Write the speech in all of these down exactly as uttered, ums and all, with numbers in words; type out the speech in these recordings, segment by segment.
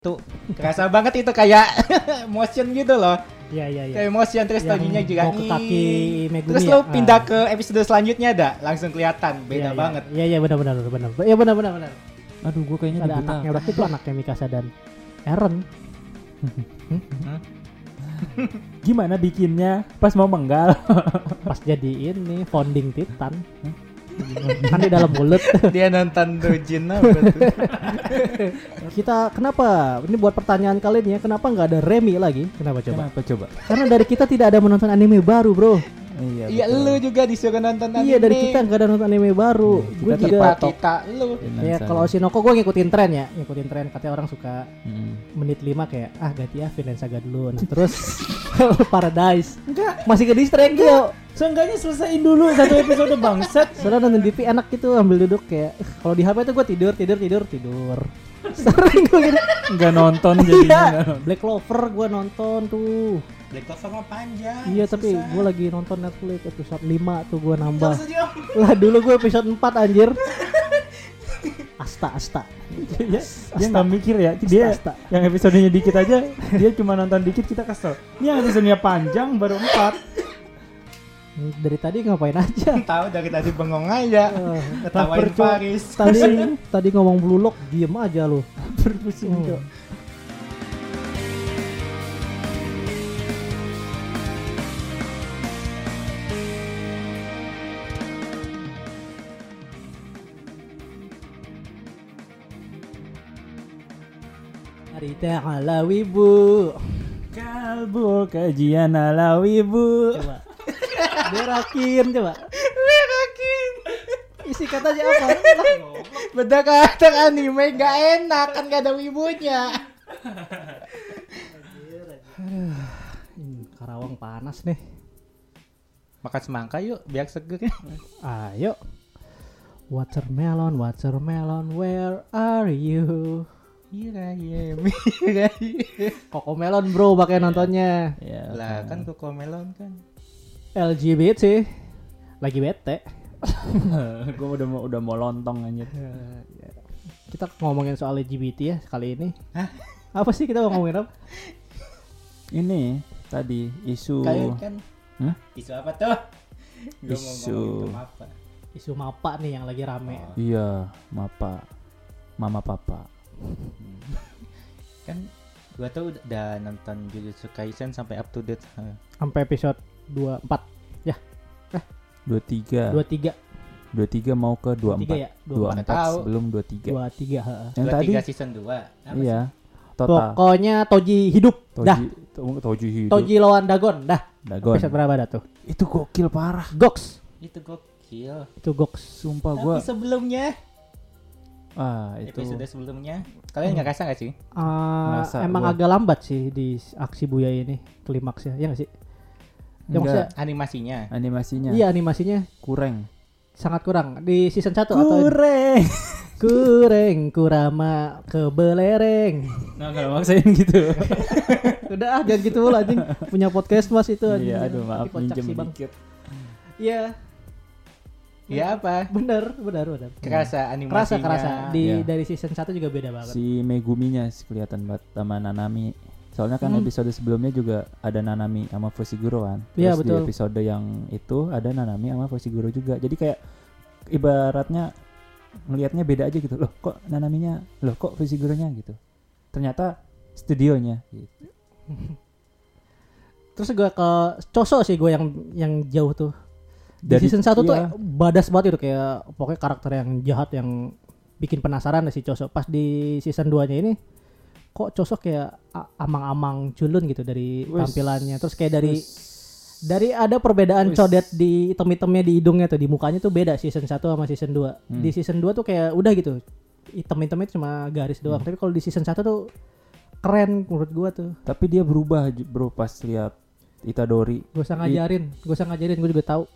Tuh kerasa banget itu kayak motion gitu loh. Iya iya iya. Kayak motion terus taginya juga ke kaki Megumi. Terus ya? lo pindah ah. ke episode selanjutnya ada langsung kelihatan beda ya, banget. Iya iya benar benar benar. Iya benar benar benar. Aduh gua kayaknya ada anaknya berarti itu anaknya Mikasa dan Eren. Gimana bikinnya pas mau menggal? Pas jadi ini founding Titan. Kan di dalam mulut. Dia nonton Dojin apa tuh? Kita kenapa? Ini buat pertanyaan kalian ya. Kenapa nggak ada Remy lagi? Kenapa coba? Kenapa coba? Karena dari kita tidak ada menonton anime baru, bro. Iya, iya lu juga disuruh nonton anime. Iya dari kita nggak ada nonton anime baru. Hmm, gue juga kita lu. Ya kalau Oshinoko gue ngikutin tren ya, ngikutin tren. Katanya orang suka hmm. menit lima kayak ah ganti ya Vinland Saga dulu. Nah terus Paradise. Enggak. Masih ke distract ya. Seenggaknya selesaiin dulu satu episode bangsat. Soalnya nonton T V enak gitu ambil duduk kayak kalau di H P tuh gue tidur tidur tidur tidur. Sering gue gitu. Enggak nonton jadinya. Iya. Black Clover gue nonton tuh. Black Clover mah panjang. Iya susah. Tapi gue lagi nonton Netflix episode lima tuh gue nambah. Lah dulu gue episode empat anjir. Asta Asta. Ya, dia nggak mikir ya dia asta, asta. Yang episodenya dikit aja dia cuma nonton dikit kita kesel. Ini yang episodenya panjang baru empat. Dari tadi ngapain aja? Tahu dari tadi bengong aja. Uh, Ketawain Paris. Tadi tadi ngomong Blue Lock diem aja lu. Berpusing kok. Oh. Harita ala wibu. Kalbu kajian ala wibu. Coba. Berakin coba. Berakin. Isi katanya apa? Beda karakter anime gak enak kan gak ada wibunya. Karawang panas nih. Makan semangka yuk biar seger. Ayo. Watermelon, watermelon, where are you? Iya iya iya. Kokomelon bro pakai nontonnya. Ya, lah kan Kokomelon kan. L G B T lagi bete. Gue udah mau udah mau lontong anjir. Kita ngomongin soal L G B T ya kali ini. Hah? Apa sih kita mau ngomongin apa? Ini tadi isu. Kayak kan. Hah? Isu apa tuh? Isu. Isu mapa nih yang lagi rame. Oh. Iya, mapa. Mama papa. Hmm. Kan gua tuh udah nonton Jujutsu Kaisen sampai up to date. Sampai episode dua puluh empat ya. Eh, dua puluh tiga. dua puluh tiga. dua puluh tiga mau ke dua puluh empat. Ya? dua puluh empat sebelum dua puluh tiga. dua puluh tiga, heeh. Yang dua puluh tiga tadi season dua. Iya. Total. Pokoknya Toji hidup. Toji, dah. To- Toji hidup. Toji lawan Dagon, dah. Dagon. Episode berapa dah tuh? Itu gokil parah. Gox. Itu gokil. Itu Gox. Sumpah Tapi gua. sebelumnya Ah, itu. Episode sebelumnya kalian nggak rasa nggak sih? Uh, emang gua. Agak lambat sih di aksi Buya ini klimaksnya, ya nggak sih? Ya maksudnya animasinya. Animasinya. Iya animasinya kurang. Sangat kurang di season satu kurang. atau kurang kurama kebelereng. Nah kalau maksain gitu. Udah ah jangan gitu lah anjing. Punya podcast Mas itu anjing. Iya aduh maaf minjem dikit. Iya. Iya apa? Bener, bener, bener. Kerasa animasinya. Kerasa, kerasa. Di ya. Dari season satu juga beda banget. Si Meguminya kelihatan banget sama Nanami. Soalnya kan hmm. episode sebelumnya juga ada Nanami sama Fushiguro kan. Terus ya, betul. Di episode yang itu ada Nanami sama Fushiguro juga. Jadi kayak ibaratnya ngelihatnya beda aja gitu. Loh kok Nanaminya, loh kok Fushiguronya gitu. Ternyata studionya gitu. Terus gue ke Choso sih gue yang yang jauh tuh. Di Dari, season satu iya. tuh badas banget itu kayak pokoknya karakter yang jahat yang bikin penasaran si Choso. Pas di season dua-nya ini kok Choso kayak amang-amang culun gitu dari Wiss. Tampilannya. Terus kayak dari Wiss. Dari ada perbedaan Wiss. Codet di item-itemnya di hidungnya tuh, di mukanya tuh beda season satu sama season dua. Hmm. Di season dua tuh kayak udah gitu. Item-itemnya cuma garis doang. Hmm. Tapi kalau di season satu tuh keren menurut gua tuh. Tapi dia berubah bro pas lihat Itadori. Gue usah ngajarin, gue usah ngajarin, gue juga tahu.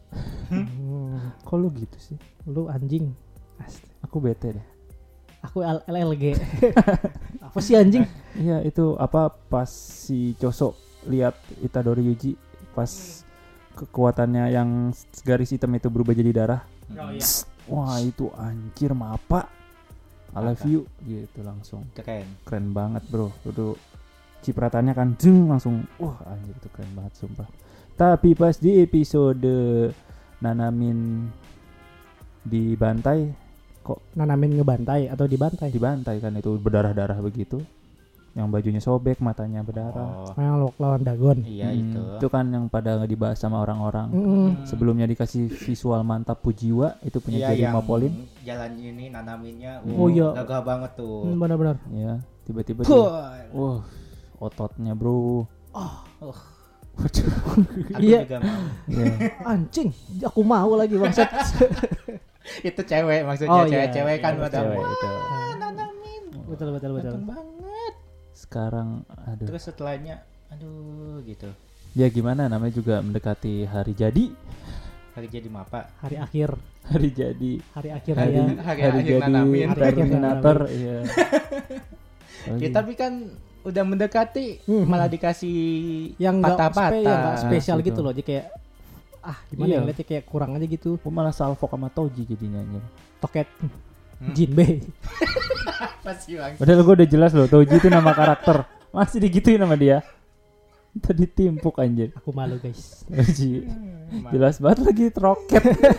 Hmm. Kok lu gitu sih? Lu anjing. Asti. Aku bete deh. Aku L L G. Apa sih anjing? Iya itu apa pas si Choso lihat Itadori Yuji pas kekuatannya yang garis hitam itu berubah jadi darah. Oh iya. Wah itu anjir mapa. I love Mantap. you gitu langsung. Keren. Keren banget bro. Itu cipratannya kan jeng langsung wah anjir itu keren banget sumpah. Tapi pas di episode Nanamin dibantai Nanamin ngebantai atau dibantai? dibantai kan itu berdarah-darah begitu. Yang bajunya sobek, matanya berdarah. Oh, Yang lo lawan Dagon. iya Hmm, itu. Itu kan yang pada dibahas sama orang-orang. Mm-mm. Sebelumnya dikasih visual mantap Pujiwa itu punya Iya, Jerry yang Mapolin. jalan ini nanaminnya. Oh, iya. Gagah banget tuh. Hmm, benar-benar. Ya, tiba-tiba dia, Puh. wah, ototnya bro. Oh, Waduh. aku Iya. juga mau. Ya. Anjing, aku mau lagi bangsat. Itu cewek maksudnya, Oh, iya. cewek-cewek kan Iya, pada Cewek wah, itu. nanamin. betul betul betul. Ganteng banget. Sekarang aduh. Terus setelahnya aduh gitu. Ya gimana namanya juga mendekati hari jadi. Hari jadi mapa. Hari akhir, Hari jadi. hari akhir Hari, ya. Hari hari akhir jadi Nanamin. Hari akhir Terminator iya. Oh, Ya, iya. tapi kan udah mendekati Hmm. malah dikasih Yang nggak patah-patah. spe- yang nggak spesial Gitu. gitu loh, jadi kayak ah gimana Iya. ya ngeliatnya kayak kurang aja gitu. Gua malah salfok sama Toji jadinya anjir. Toket Hmm. Jinbei. Pasti bang. Padahal gue udah jelas loh Toji itu nama karakter. Masih digituin sama dia. Tadi timpuk anjir. Aku malu guys. Toji. Jelas banget lagi roket.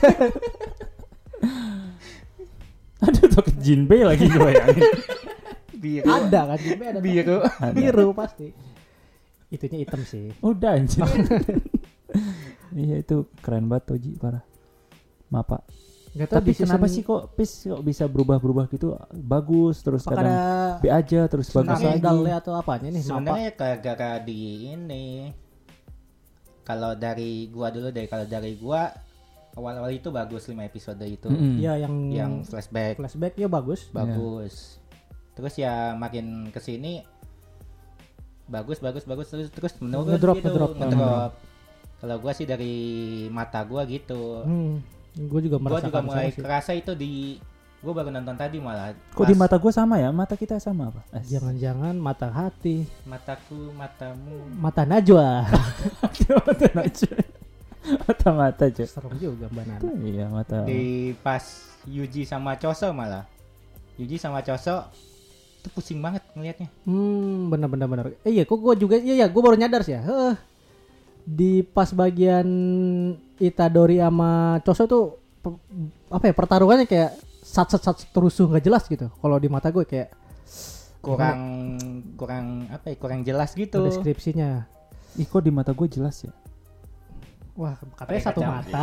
Aduh toket Jinbei lagi gue bayangin. Biru. Ada kan Jinbei ada Biru. Ada. biru pasti. Itunya hitam sih. Udah anjir. Iya itu keren banget Toji parah. Mapa. Gak tau Tapi di kenapa season- sih kok Pis kok bisa berubah-berubah gitu? Bagus terus apakah kadang ada B aja terus bagus Sebenarnya lagi. skandalnya atau apanya nih? Mapa? Sebenarnya gara-gara di ini. Kalau dari gua dulu deh, kalau dari gua awal-awal itu bagus lima episode itu. Mm-mm. Ya yang Yang flashback flashback ya bagus. bagus. Terus ya makin kesini bagus bagus bagus terus terus menurun Ngedrop, gitu, ngedrop. ngedrop. Kalau gua sih dari mata gua gitu. Hmm, gue juga Gua merasakan juga mulai sama sih. kerasa itu di gua baru nonton tadi malah. Kok Pas di mata gue sama ya? Mata kita sama apa? As- Jangan-jangan mata hati, mataku, matamu. mata Najwa. mata Najwa. Mata-mata cuy. Serem juga Mbak Nana. Iya mata. Di pas Yuji sama Choso malah. Yuji sama Choso itu pusing banget ngelihatnya. Hmm, benar-benar benar. Eh, iya, kok gue juga iya ya, gue baru nyadar sih ya. Heeh. Di pas bagian Itadori sama Choso tuh pe- apa ya pertarungannya kayak sat sat sat terusuh nggak jelas gitu. Kalau di mata gue kayak Kurang kurang apa ya? Kurang jelas gitu. deskripsinya. Ih kok di mata gue jelas ya? Wah, katanya Pakai satu kacamata. mata.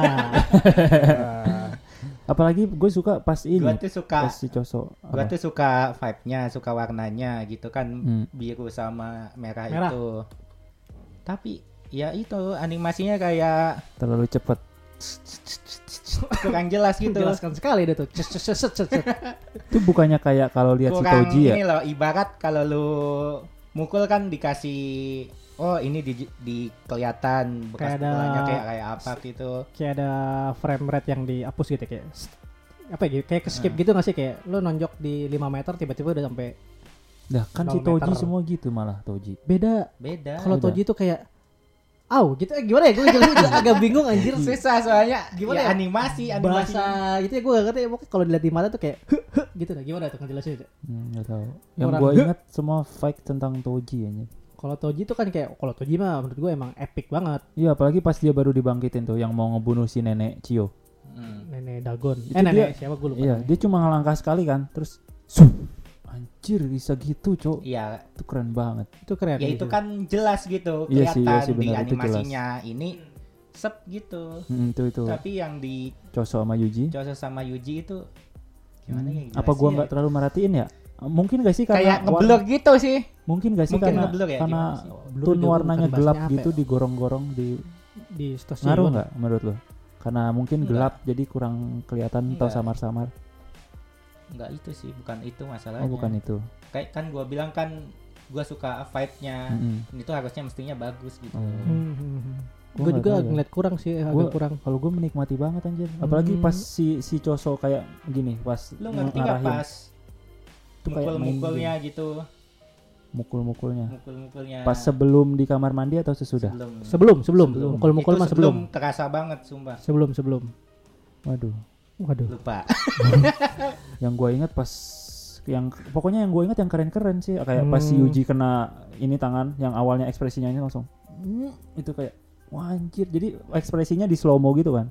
Apalagi gue suka pas ini. Gua tuh suka Pas si Choso. gua Apa? tuh suka vibe-nya, suka warnanya gitu kan. Hmm. Biru sama merah, Merah. itu. Tapi ya itu animasinya kayak Terlalu cepet. kurang jelas gitu. Jelaskan sekali deh tuh. Cet, cet, cet, cet, cet. Itu bukannya kayak kalau lihat si Kurang Toji ya? ini loh, ibarat kalau lu mukul kan dikasih oh ini di, di kelihatan bekas Kayak ada- pukulannya kayak kayak apa gitu. Kayak ada frame rate yang dihapus gitu kayak apa ya kayak ke skip Hmm. gitu nggak sih kayak lu nonjok di lima meter tiba-tiba udah sampai Dah kan si nol Toji meter. semua gitu malah Toji. beda. Beda. Kalau Beda. Toji itu kayak Au gitu eh, gimana ya gue jelasin juga agak bingung anjir Susah soalnya Gimana ya, ya? animasi animasi. bahasa gitu ya gue gak ngerti ya pokoknya kalau dilihat di mata tuh kayak "Huh, huh," gitu nah gimana tuh ngejelasin itu. Hmm, gak tahu. Yang Orang- gue ingat semua fight tentang Toji ya. Kalau Toji tuh kan kayak kalau Toji mah menurut gue emang epic banget. Iya apalagi pas dia baru dibangkitin tuh yang mau ngebunuh si nenek Cio. Hmm. Nenek Dagon. Itu eh nenek dia- siapa gue lupa. Iya namanya. dia cuma ngelangkah sekali kan terus Sup. Anjir bisa gitu cok. Iya, Itu keren banget. Itu keren. ya gitu. itu kan jelas gitu Iya sih, kelihatan iya sih, di benar, itu animasinya ini sep gitu. Hmm, itu itu Tapi yang di Choso sama Yuji. Choso sama Yuji itu gimana ya? Apa gua nggak terlalu merhatiin ya? Mungkin gak sih karena kayak war- ngeblur gitu sih. Mungkin gak sih Mungkin karena ngeblur ya, karena gimana sih? Blur tone juga warnanya bukan gelap bahasnya apa gitu ya? digorong-gorong di Di stasiun. ngaruh nggak menurut lo? Karena mungkin Enggak. gelap jadi kurang kelihatan atau Enggak. samar-samar. Enggak itu sih, bukan itu masalahnya. Oh bukan itu. Kayak kan gua bilang kan gua suka vibe-nya. Mm-mm. Ini tuh harusnya mestinya bagus gitu. Oh. Hmm, hmm, hmm. Gua Gue nggak juga tahu ya. ngeliat kurang sih agak Gua- kurang. Kalau gue menikmati banget anjir. Apalagi Hmm. pas si si Choso kayak gini pas Lu ngerti nggak ngarahin pas Itu kayak mukul-mukulnya main gitu, mukul-mukulnya. mukul-mukulnya. Pas sebelum di kamar mandi atau sesudah? sebelum. Sebelum sebelum Sebelum. mukul-mukul Itu mah sebelum. terasa banget sumpah. Sebelum sebelum. Waduh. Waduh. Lupa. Yang gue ingat pas yang pokoknya yang gue ingat yang keren-keren sih kayak Hmm. pas si Yuji kena ini tangan yang awalnya ekspresinya ini langsung mm, itu kayak wah anjir jadi ekspresinya di slow mo gitu kan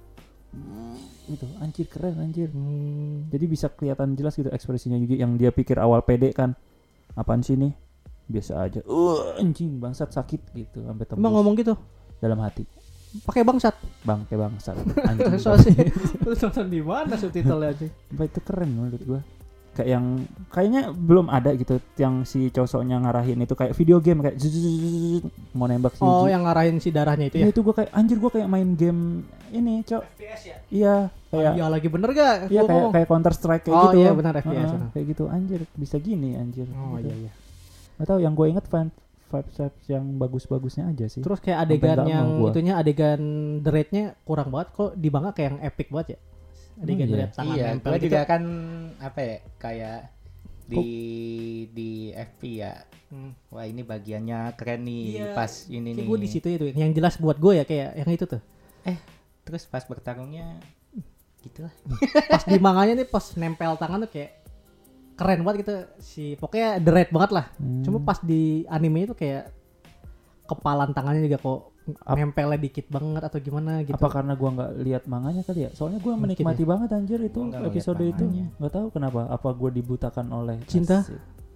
mm, itu anjir keren anjir Hmm. jadi bisa kelihatan jelas gitu ekspresinya Yuji yang dia pikir awal pede kan apaan sih nih biasa aja uh anjing bangsat sakit gitu sampai tembus Emang ngomong gitu? dalam hati Pakai bangsat. bang kayak bangsat anjing So sih. Terus nonton di mana subtitlenya aja? Sumpah itu keren menurut gua kayak yang kayaknya belum ada gitu yang si cowoknya ngarahin itu kayak video game kayak zzzz, mau nembak si Oh, Yuji. yang ngarahin si darahnya itu Iya ya? itu gua kayak anjir gua kayak main game ini cok F P S ya. iya kayak Iya lagi bener gak? iya Gua kayak ngomong. kayak Counter Strike kayak Oh, gitu iya, benar, F P S, Heeh, benar. kayak gitu anjir bisa gini anjir Oh gitu. iya iya. Nggak tahu yang gue inget fan vibes yang bagus-bagusnya aja sih Terus kayak Sampai adegan nggak yang mau gua. itunya adegan the rate-nya kurang banget kok di manga kayak yang epic banget ya. Adegan Oh, the iya. rate tangan Iya, nempel gua gitu. juga kan apa ya kayak di di F P ya. Hmm. Wah ini bagiannya keren nih Iya. pas ini Kayak nih. gue di situ itu yang jelas buat gue ya kayak yang itu tuh. Terus pas bertarungnya gitu lah. Pas di manganya nih pas nempel tangan tuh kayak keren banget gitu si pokoknya the rate banget lah. Hmm. Cuma pas di anime itu kayak kepalan tangannya juga kok Ap- nempelnya dikit banget atau gimana gitu. apa karena gua nggak lihat manganya kali ya soalnya gua Mungkin menikmati banget anjir itu Gua nggak ngeliat episode itu manganya. nggak tahu kenapa apa gua dibutakan oleh Cinta? Asik.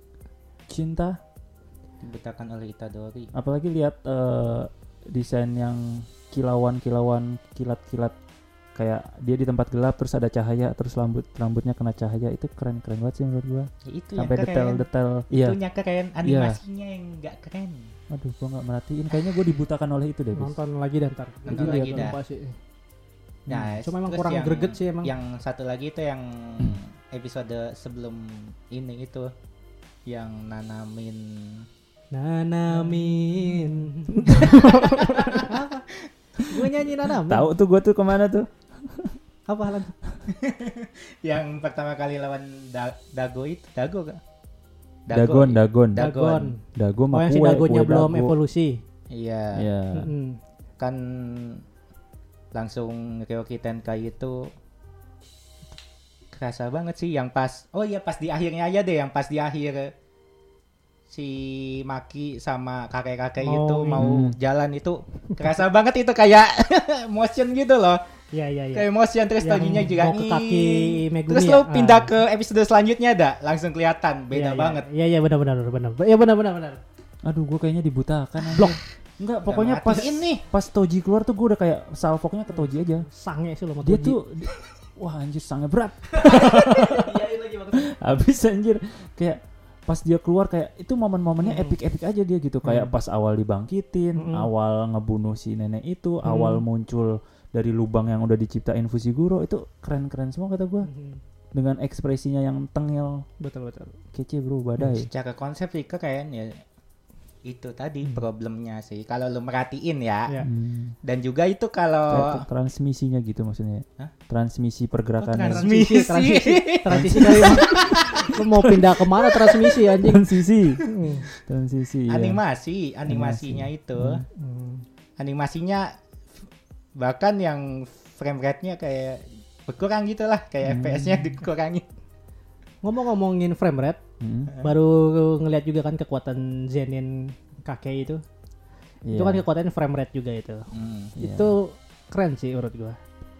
cinta Dibutakan oleh Itadori. apalagi lihat eh, desain yang kilauan-kilauan kilat-kilat kayak dia di tempat gelap terus ada cahaya terus rambut rambutnya kena cahaya itu keren-keren banget sih menurut gua Ya, itu sampai yang keren. detail-detail iya Itunya keren, animasinya yang nggak keren. aduh gua nggak merhatiin kayaknya gua dibutakan oleh itu deh Bis. Nonton lagi dan ntar. Nonton Itu lagi lihat dah. lupa sih. Nah, Cuma emang terus kurang yang- greget sih emang. Yang satu lagi itu yang episode sebelum ini itu yang nanamin Nanamin. Apa? Gue nyanyi nanamin. tahu tuh gua tuh kemana tuh Apa halan? yang pertama kali lawan da- Dago itu Dago gak? Dagon Dagon Dagon. Dago Oh mah yang si kue, dagonya kue belum dago. evolusi. Iya. Iya. Mm-mm. Kan langsung Ryoki Tenkai itu kerasa banget sih yang pas oh iya pas di akhirnya aja deh yang pas di akhir si Maki sama kakek-kakek Mau itu ini. mau Hmm. jalan itu kerasa banget itu kayak motion gitu loh Iya iya iya. kayak motion terus Yang taginya juga mau ke kaki "Ih." Megumi terus ya? lo pindah Ah. ke episode selanjutnya dah langsung kelihatan beda Iya, iya. banget Iya iya benar benar benar. Iya benar benar benar. Aduh gue kayaknya dibutakan anjir. Blok. Enggak Udah pokoknya pas matiin nih. pas Toji keluar tuh gue udah kayak salvoknya ke Toji aja Sange sih lo sama dia Toji. tuh di- wah anjir sangat berat Iya itu lagi maksudnya. habis anjir kayak pas dia keluar kayak itu momen-momennya Hmm. epic-epic aja dia gitu kayak Hmm. pas awal dibangkitin Hmm. awal ngebunuh si nenek itu Hmm. awal muncul dari lubang yang udah diciptain Fushiguro itu keren-keren semua kata gue Mhm. dengan ekspresinya yang tengil Betul betul. kece bro badai secara konsep sih kayaknya itu tadi Hmm. problemnya sih kalau lu merhatiin ya Iya. Hmm. dan juga itu Kayak kalau transmisinya gitu maksudnya Hah? transmisi pergerakannya Oh, Transmisi transmisi transisi kali Bang. Lu mau pindah kemana transmisi anjing? transisi Hmm. transisi iya. animasi animasinya itu Hmm. animasinya bahkan yang frame rate-nya kayak berkurang gitu lah kayak Hmm. F P S-nya dikurangi Ngomong-ngomongin frame rate, Hmm. baru ngeliat juga kan kekuatan Zenin kakek itu. Iya. Itu kan kekuatan frame rate juga itu. Hmm. Iya. Itu keren sih menurut gua.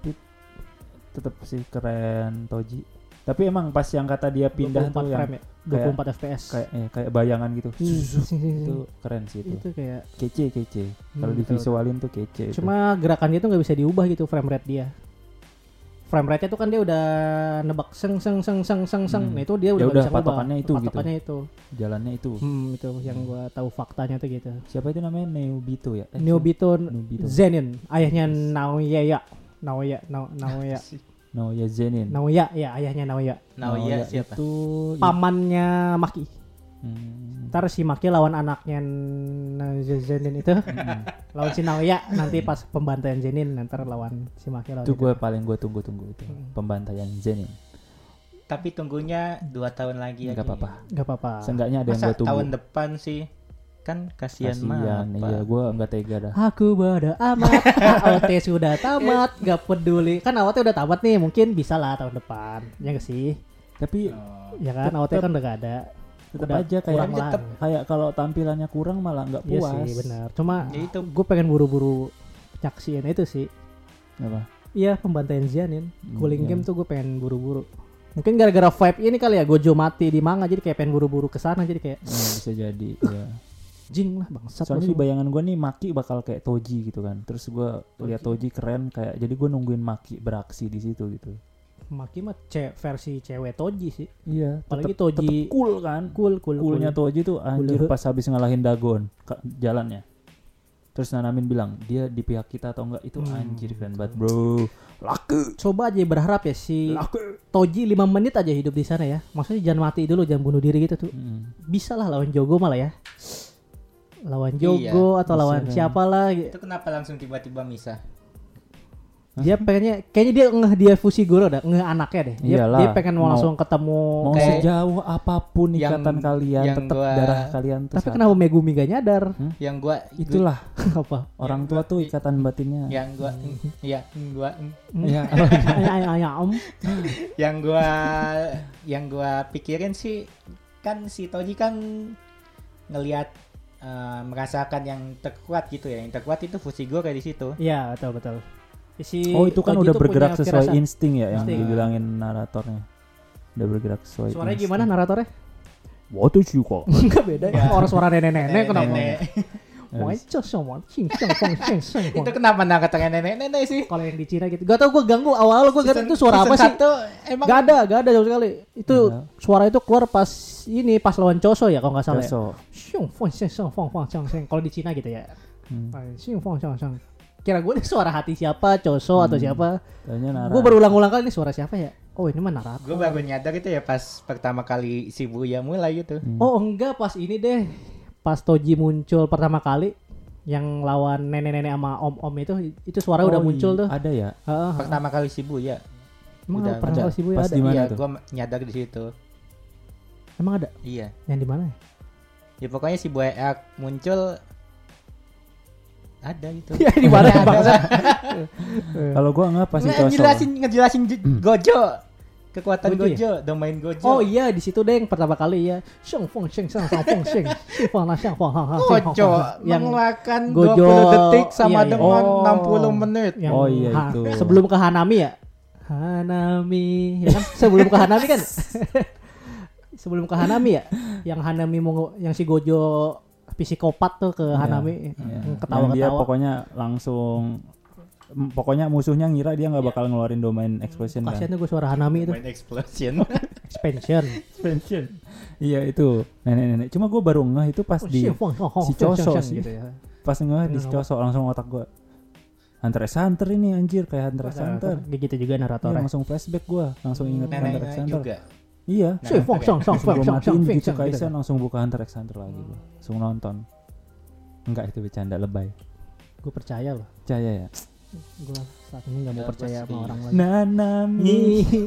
tetap sih keren Toji tapi emang pas yang kata dia pindah dua puluh empat tuh yang frame ya. dua puluh empat F P S. kayak eh, kayak bayangan gitu Hmm, itu keren sih itu itu kayak kece kece kalau Hmm, divisualin tuh kece itu. cuma gerakannya tuh nggak bisa diubah gitu frame rate dia. Frame rate-nya tuh kan dia udah nebak seng seng seng seng seng seng. Hmm. Nah itu dia Ya udah nggak udah, bisa ngubah. patokannya itu gitu. Patokannya itu. jalannya itu Hmm, itu yang gua tahu faktanya tuh gitu. siapa itu namanya Neobito ya eh, Neobito Neobito Zenin, ayahnya Naoya. Naoya, Nao- Naoya. no ya Zenin Naoya, ya ayahnya Naoya. Nah, Naoya iya siapa? itu Pamannya Maki. hmm, Ntar si Maki lawan anaknya N- Zenin itu. Lawan si Naoya nanti pas pembantaian Zenin ntar lawan si Maki lawan itu itu. gue paling gue tunggu-tunggu itu Hmm. pembantaian Zenin Tapi tunggunya dua tahun lagi nggak aja. apa-apa Gak apa-apa. seenggaknya ada yang Masa gue tunggu tahun depan sih? Kan kasihan mah. kasian iya gue nggak tega dah Aku bodo amat, A O T sudah tamat, gak peduli. Kan A O T udah tamat nih, mungkin bisa lah tahun depan. Ya gak sih? Tapi Oh. Ya kan, A O T kan udah gak ada. tetap Udah aja kayak kurang lah. tetep. kayak kalau tampilannya kurang malah nggak Iya puas. sih benar. Cuma Ya itu. gue pengen buru-buru nyaksiin itu sih. Apa? Iya pembantaian Xianin. Hmm, Cooling iya. game tuh gue pengen buru-buru. Mungkin gara-gara vibe ini kali ya Gojo mati di manga jadi kayak pengen buru-buru kesana jadi kayak Ya, bisa jadi. Ya. jing lah bangsat. Soalnya lu di semua. bayangan gue nih Maki bakal kayak Toji gitu kan. Terus gue lihat Toji keren kayak jadi gue nungguin Maki beraksi di situ gitu. Maki mah ce- versi cewek Toji sih. Iya. Apalagi tetep- Toji tetep cool kan. cool cool Coolnya cool. Toji tuh anjir Cool. pas habis ngalahin Dagon ka- jalannya. Terus Nanamin bilang dia di pihak kita atau enggak itu Hmm, anjir keren banget bro. Laku. Coba aja berharap ya si Laku. Toji lima menit aja hidup di sana ya. Maksudnya jangan mati dulu, jangan bunuh diri gitu tuh. Mm. Bisa lah lawan Jogo malah ya. Lawan Iya, Jogo atau bisa lawan kan. siapa lah. Itu kenapa langsung tiba-tiba misah? Dia pengennya kayaknya dia ngeh dia Fushiguro dah, ngeh anaknya deh. Dia, Iyalah, dia pengen mau mau- langsung ketemu. Mau Kayak sejauh apapun yang- ikatan kalian yang tetap gua- darah kalian tuh Tapi satu. kenapa Megumi gak nyadar? Yang gua Itulah Apa? orang tua tuh ikatan batinnya. yang gua ya gua Iya. Ayam ayam. yang gua yang gua pikirin sih kan si Toji kan ngelihat eh, merasakan yang terkuat gitu ya. Yang terkuat itu Fushiguro di situ. Iya betul betul. Si Oh itu kan Toji udah tuh bergerak punya sesuai firasat. insting ya yang Insting. dibilangin naratornya. Udah bergerak sesuai Suaranya insting. gimana naratornya? Waktu kok. Enggak beda. Ya. Orang suara nenek-nenek kenapa? Nenek. Wah, itu semua cing cing fong cing cing fong. Itu kenapa nangkatnya nenek-nenek sih? Kalau yang di Cina gitu. Gak tau gue ganggu awal gue gak Season- itu suara apa season sih? satu emang Gak ada, gak ada sama sekali. Itu Iya. suara itu keluar pas ini pas lawan Choso ya kalau nggak salah ya. Besok. Xiong fong xiong xiong fong fong xiong xiong. Kalau di Cina gitu ya. Hmm. Xiong fong xiong xiong. Kira gue ini suara hati siapa, Choso atau Hmm. siapa? Tanya Nara. Gue berulang-ulang kali ini suara siapa ya? Oh ini mah Narato. gue baru nyadar itu ya pas pertama kali Shibuya mulai gitu. Hmm. Oh enggak pas ini deh. Pas Toji muncul pertama kali yang lawan nenek-nenek sama om-om itu itu suara Oh, udah muncul iya. tuh. Ada ya? Heeh. Pertama kali Shibuya. Emang udah pernah ada. kali Shibuya Pas ada? di mana Iya, tuh? gue nyadar di situ. Emang ada? Iya. Yang di mana ya? Ya pokoknya Shibuya Arc muncul ada gitu. Ya di mana Ada. bangsa? Kalau gua enggak pasti Choso. ngejelasin ngejelasin J- Gojo. Kekuatan Gojo ya? Gojo, domain Gojo. Oh iya di situ deh yang pertama kali ya. Xiong fong xiong xiong fong fong xiong. Xiong fong la xiong fong hang hang xiong fong Gojo fong. Yang mengeluarkan Gojo, dua puluh detik sama iya, iya. dengan Oh. enam puluh menit. yang Oh, iya, ha- itu. sebelum ke Hanami ya. Hanami ya kan sebelum ke Hanami kan. Sebelum ke Hanami ya. Yang Hanami mau yang si Gojo psikopat tuh ke Iya. Hanami Iya. yang Yang dia ketawa-ketawa. pokoknya langsung m- pokoknya musuhnya ngira dia nggak Iya. bakal ngeluarin domain explosion kan. Kasian tuh gue suara Hanami itu. Domain explosion. Expansion. Expansion. Iya itu nenek-nenek. Cuma gue baru ngeh itu pas Oh, di xiong fong hang hang si xiong Choso xiong sih. gitu ya. pas ngeh di Kenapa? Choso langsung otak gue. Hunter x Hunter ini anjir kayak Hunter x Hunter. Kayak gitu juga Iya, naratornya. langsung flashback gue, langsung inget Hunter x Nenek Hunter. juga. Iya. Nah, Xiong fong xiong xiong Langsung fong gue xiong xiong matiin xiong gitu xiong gitu. Kaisen langsung buka Hunter x Hunter lagi gue. Langsung nonton. Enggak itu bercanda lebay. Gue percaya loh. Percaya ya. Gue saat ini nggak mau Dapat percaya sama sih. orang lagi. Nanami.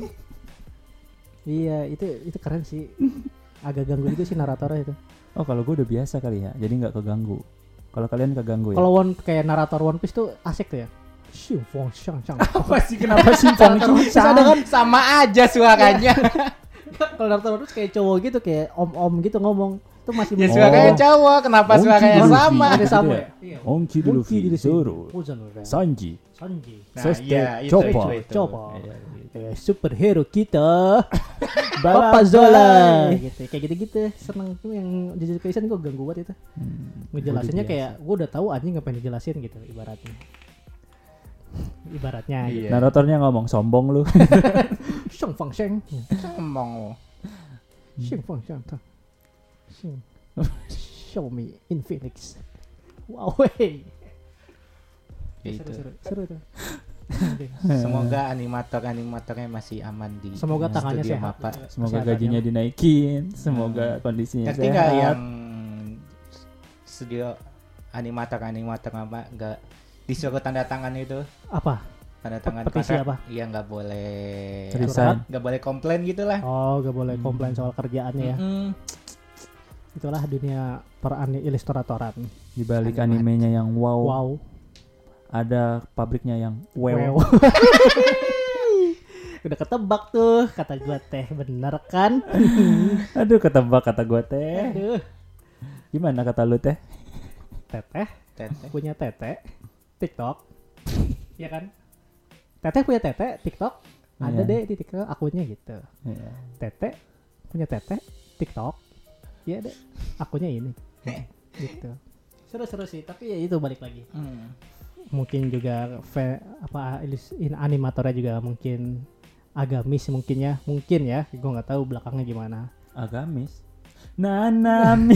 Iya itu itu keren sih. Agak ganggu juga sih naratornya itu. Oh kalau gue udah biasa kali ya, jadi nggak keganggu. Kalau kalian keganggu ya. Kalau One kayak narator One Piece tuh asik tuh ya. Xiong fong xiong xiong. Apa sih kenapa sih Terus ada kan sama aja suaranya. Kalau narator One Piece kayak cowok gitu kayak om-om gitu ngomong. Itu masih Ya Oh. suaranya cowok, kenapa Ongki suaranya Luffy. sama? Ada sama Gitu ya. Iya. Ongki Ongki Luffy, di sini. Zoro, Uzan Luffy. Sanji, Sanji. Nah, Sasuke, iya, itu, Chopper. itu, itu. Coba. Iya, Eh, superhero kita. Balap Papa Zola. balai. Gitu. Kayak gitu-gitu. Seneng tuh yang Jujutsu Kaisen gue ganggu banget itu. Hmm, Ngejelasinnya udah kayak gue udah tahu anjing ngapain dijelasin gitu ibaratnya. Ibaratnya gitu. Iya. Naratornya ngomong sombong lu. Xiong fong xiong. Ngomong. Xiong fong xiong. ta. Xiong. Show me in Phoenix. Wow, wey. Gitu. Seru, seru, seru tuh. Semoga animator-animatornya masih aman di Semoga tangannya studio sehat. Mappa. Semoga Kesehatannya. gajinya dinaikin, semoga Hmm. kondisinya Ngerti nggak sehat. yang studio animator-animator apa nggak disuruh tanda tangan itu? Apa? Tanda tangan Petisi kontrak. apa? Iya nggak boleh Resign. nggak boleh komplain gitu lah. Oh, gak boleh Hmm. komplain soal kerjaannya ya. Mm-mm. Itulah dunia per ani- ilustratoran. Di balik Animat. animenya yang wow, Wow. ada pabriknya yang wow. Wow. Udah ketebak tuh kata gua teh, bener kan? Aduh ketebak kata gua teh. Aduh. Gimana kata lu teh? Teteh Teteh. punya tete TikTok. Iya kan? Teteh punya tete TikTok. Ada Iya. deh di TikTok akunnya gitu. Iya. Tete punya tete TikTok. Iya deh. Akunnya ini. Gitu. Seru-seru sih, tapi ya itu balik lagi. Hmm. Mungkin juga fe, apa ilis- in animatornya juga mungkin agamis mungkin ya. Mungkin ya. Gue nggak tahu belakangnya gimana. Agamis. Nanami.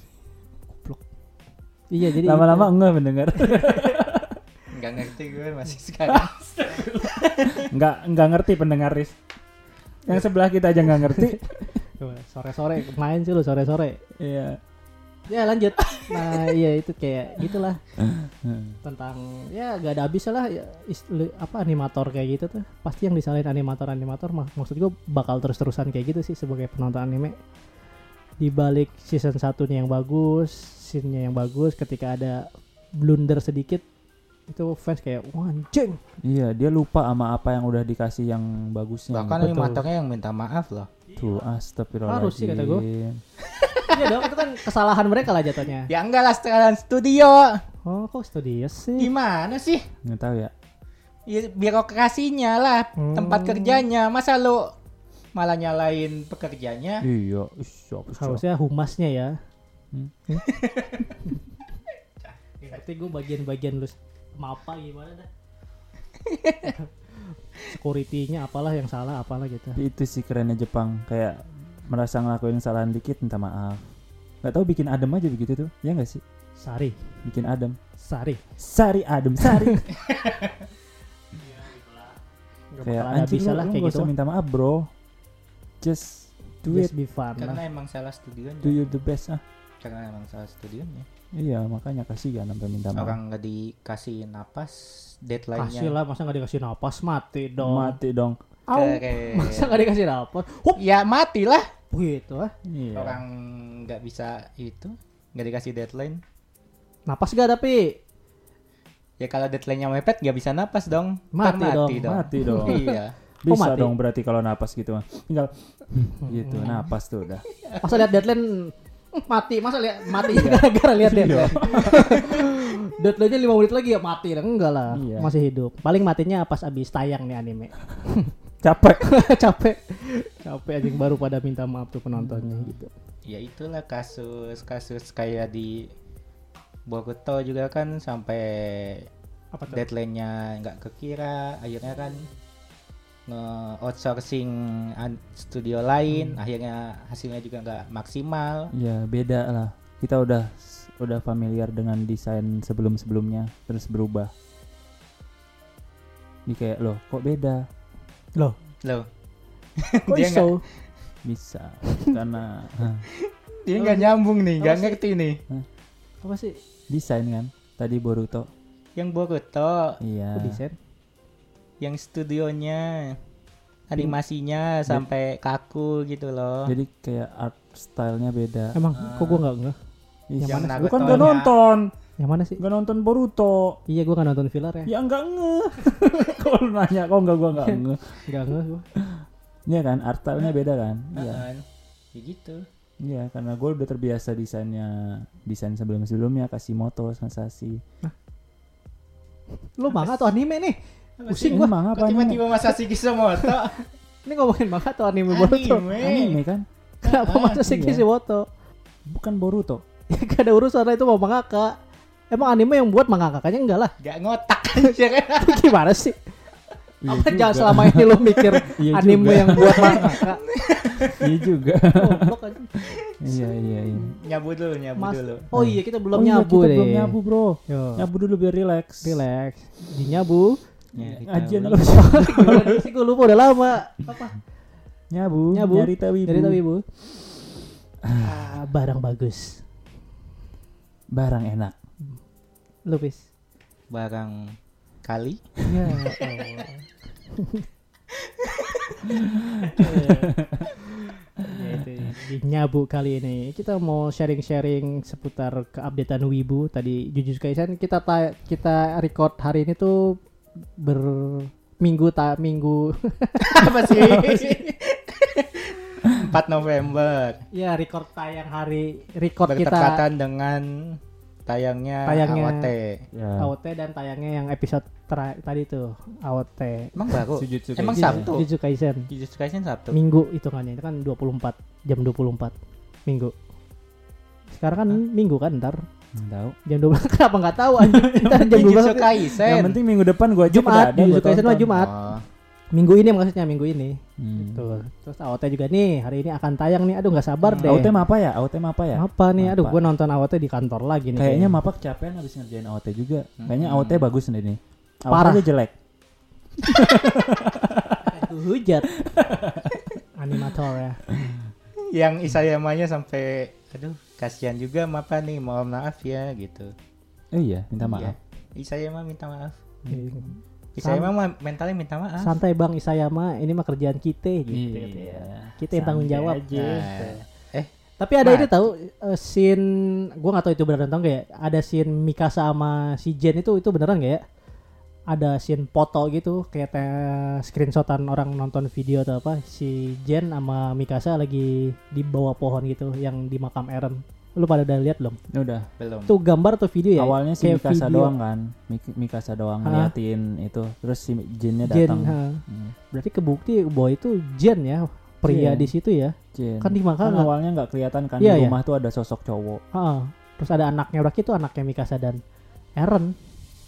Iya, jadi Lama-lama enggak mendengar. Nggak ngerti gue masih sekarang. Enggak enggak ngerti pendengar Riz. Yang sebelah kita aja enggak ngerti. Tuh, sore-sore main sih lu sore-sore. Iya. Ya lanjut. Nah iya itu kayak gitulah tentang ya gak ada habisnya lah ya, is- li- apa animator kayak gitu tuh pasti yang disalahin animator-animator mak- maksud gue bakal terus-terusan kayak gitu sih sebagai penonton anime. Di balik season satunya yang bagus, scene-nya yang bagus, ketika ada blunder sedikit itu fans kayak wah anjing. Iya, dia lupa sama apa yang udah dikasih yang bagusnya. Bahkan Betul. animatornya yang minta maaf loh. Tuh, astagfirullahaladzim. Harus sih kata gua. Iya dong, itu kan kesalahan mereka lah jatuhnya. Ya enggak lah sekalian studio. Oh kok studio sih? Gimana sih? Nggak tahu ya. Ya, birokrasinya lah, Hmm. tempat kerjanya. Masa lu malah nyalain pekerjanya? Iya, ish, apa sih? Harusnya humasnya ya. Hmm. Berarti gue bagian-bagian lu mapa gimana dah. Security-nya apalah yang salah apalah gitu. Tapi itu sih kerennya Jepang, kayak merasa ngelakuin kesalahan dikit minta maaf. Gak tahu bikin adem aja begitu tuh, ya nggak sih? Sari, Bikin adem. Sari. Sari adem sari. Gak Kayak bakal ada anjing bisa lu, lah lu kayak gak gitu. usah minta maaf bro. Just do Just it, be fun Karena lah. emang salah studionya. do you the best ah. Karena emang salah studionya. Iya makanya kasih kan sampai minta maaf. Orang nggak dikasih napas, deadline-nya. Kasih lah, masa gak dikasih napas mati dong. Mati dong. Au. Keren. Masa gak dikasih napas? Hup, Ya matilah. gitu ah. Iya. Orang nggak bisa itu, nggak dikasih deadline. Napas gak tapi? Ya kalau deadline-nya mepet nggak bisa napas dong. Mati Ntar dong, Mati dong. Iya. Bisa mati? dong berarti kalau napas gitu mah. Tinggal gitu napas tuh udah. Masa lihat deadline mati, masa lihat mati gara-gara lihat deadline. Deadline-nya lima menit lagi ya mati. Enggak lah, Iya. masih hidup. Paling matinya pas abis tayang nih anime. Capek. Capek. Capek anjing baru pada minta maaf tuh penontonnya gitu. Ya itulah kasus-kasus kayak di Boruto juga kan sampai Apa tuh? deadline-nya nggak kekira, akhirnya kan nge-outsourcing an- studio lain, akhirnya hasilnya juga nggak maksimal. Ya beda lah. Kita udah udah familiar dengan desain sebelum-sebelumnya terus berubah. Ini kayak loh kok beda? Loh, Loh, kok Dia iso? Bisa karena hah, dia nggak nyambung nih, nggak Apa sih? ngerti nih. Apa sih? desain kan tadi Boruto. Yang Boruto, Iya. Kok desain? yang studionya, animasinya sampai kaku gitu loh. Jadi kayak art stylenya beda. Emang kok gua enggak enggak? Ih, yang mana? Gua kan Naruto-nya. gak nonton, Yang mana sih? gak nonton Boruto. Iya gua enggak nonton filler ya. Ya enggak nge. Kalau lu nanya kok enggak gua enggak nge. Enggak enggak gua. Iya kan art stylenya beda kan? Iya. Heeh. Ya gitu. Iya karena gue udah terbiasa desainnya desain sebelum-sebelumnya Kashimoto, Masashi. Lu manga atau anime nih? Pusing Ini gua. manga Kok apa anime? tiba-tiba Masashi Kishimoto? Ini ngomongin manga atau anime Boruto? Anime. Anime kan? Kenapa Ah, masa sih iya. Kishimoto? Bukan Boruto. Ya gak ada urusan lah, itu mau mangaka. Emang anime yang buat mangakanya enggak lah. Gak ngotak aja kan. Gimana sih? Iya Apa juga. jangan selama ini lu mikir Iya anime juga. yang buat mangaka? Iya juga. Goblok aja. Iya iya iya. Nyabu dulu, nyabu Mas, dulu. oh iya kita belum Oh iya, nyabu kita deh. belum nyabu bro. Yo. Nyabu dulu biar relax. Relax. Di nyabu. Ya, kita Ngajian ulang. lu. Gimana sih gue lupa udah lama. Apa? Nyabu. Nyabu. Nyari tawibu. Dari tahu ibu. Ah, barang bagus. Barang enak. Lupis. Barang kali. Ya Allah. Ya, itu di nyabu kali ini kita mau sharing-sharing seputar keupdatean Wibu. Tadi Jujutsu Kaisen kita ta- kita record hari ini tuh ber minggu ta minggu Apa sih? empat November. ya record tayang hari record kita Bertepatan dengan tayangnya, Tayangnya. A O T. Ya. A O T dan tayangnya yang episode ter- tadi tuh A O T Emang baru? Jujutsu Emang Kaisen. Sabtu? Jujutsu Kaisen Jujutsu Kaisen Sabtu. minggu hitungannya itu kan dua puluh empat jam dua puluh empat minggu. Sekarang kan minggu kan ntar Nggak tahu. jam dua belas kenapa nggak tahu anjing? Ntar jam dua belas Jujutsu Kaisen. Yang penting minggu depan gua aja Jumat, udah ada, Jujutsu gua Kaisen mah tonton. Jumat. Oh. Minggu ini maksudnya minggu ini. Hmm. Tuh. Terus A O T juga nih hari ini akan tayang nih. Aduh nggak sabar Hmm. deh. A O T mah apa ya? A O T mah apa ya? Apa nih? Aduh Apa? gue nonton A O T di kantor lagi nih. Kayaknya Mapa kecapean habis ngerjain A O T juga. Kayaknya A O T Hmm. bagus nih nih. A O T Parah. aja jelek. Aduh, hujat. Animator ya. Yang Isayamanya sampai aduh kasihan juga Mapa nih, mohon maaf ya gitu. Oh iya, minta maaf. Iya. Isayama minta maaf. Hmm. Isayama mah mentalnya minta maaf. Santai Bang Isayama, ini mah kerjaan kita gitu. Iya. Kita yang tanggung Santai jawab. aja. Nah, eh Tapi ada Mati. ini tahu uh, scene gua nggak tahu itu beneran atau enggak ya. Ada scene Mikasa sama si Jen itu itu beneran enggak ya? Ada scene foto gitu kayak te- screenshotan orang nonton video atau apa si Jen sama Mikasa lagi di bawah pohon gitu yang di makam Eren. Lu pada udah lihat belum? Udah. belum. Itu gambar atau video ya? Awalnya si Kayak Mikasa video. doang kan. Mik- Mikasa doang Hah? ngeliatin itu. Terus si Jinnya Jen, datang. ha. Hmm. Berarti kebukti bahwa itu Jen ya, pria Jen. di situ ya. Jin. Kan di Kan makam. awalnya nggak kelihatan kan Iya, di iya. rumah tuh ada sosok cowok. Heeh. Terus ada anaknya berarti itu anaknya Mikasa dan Eren.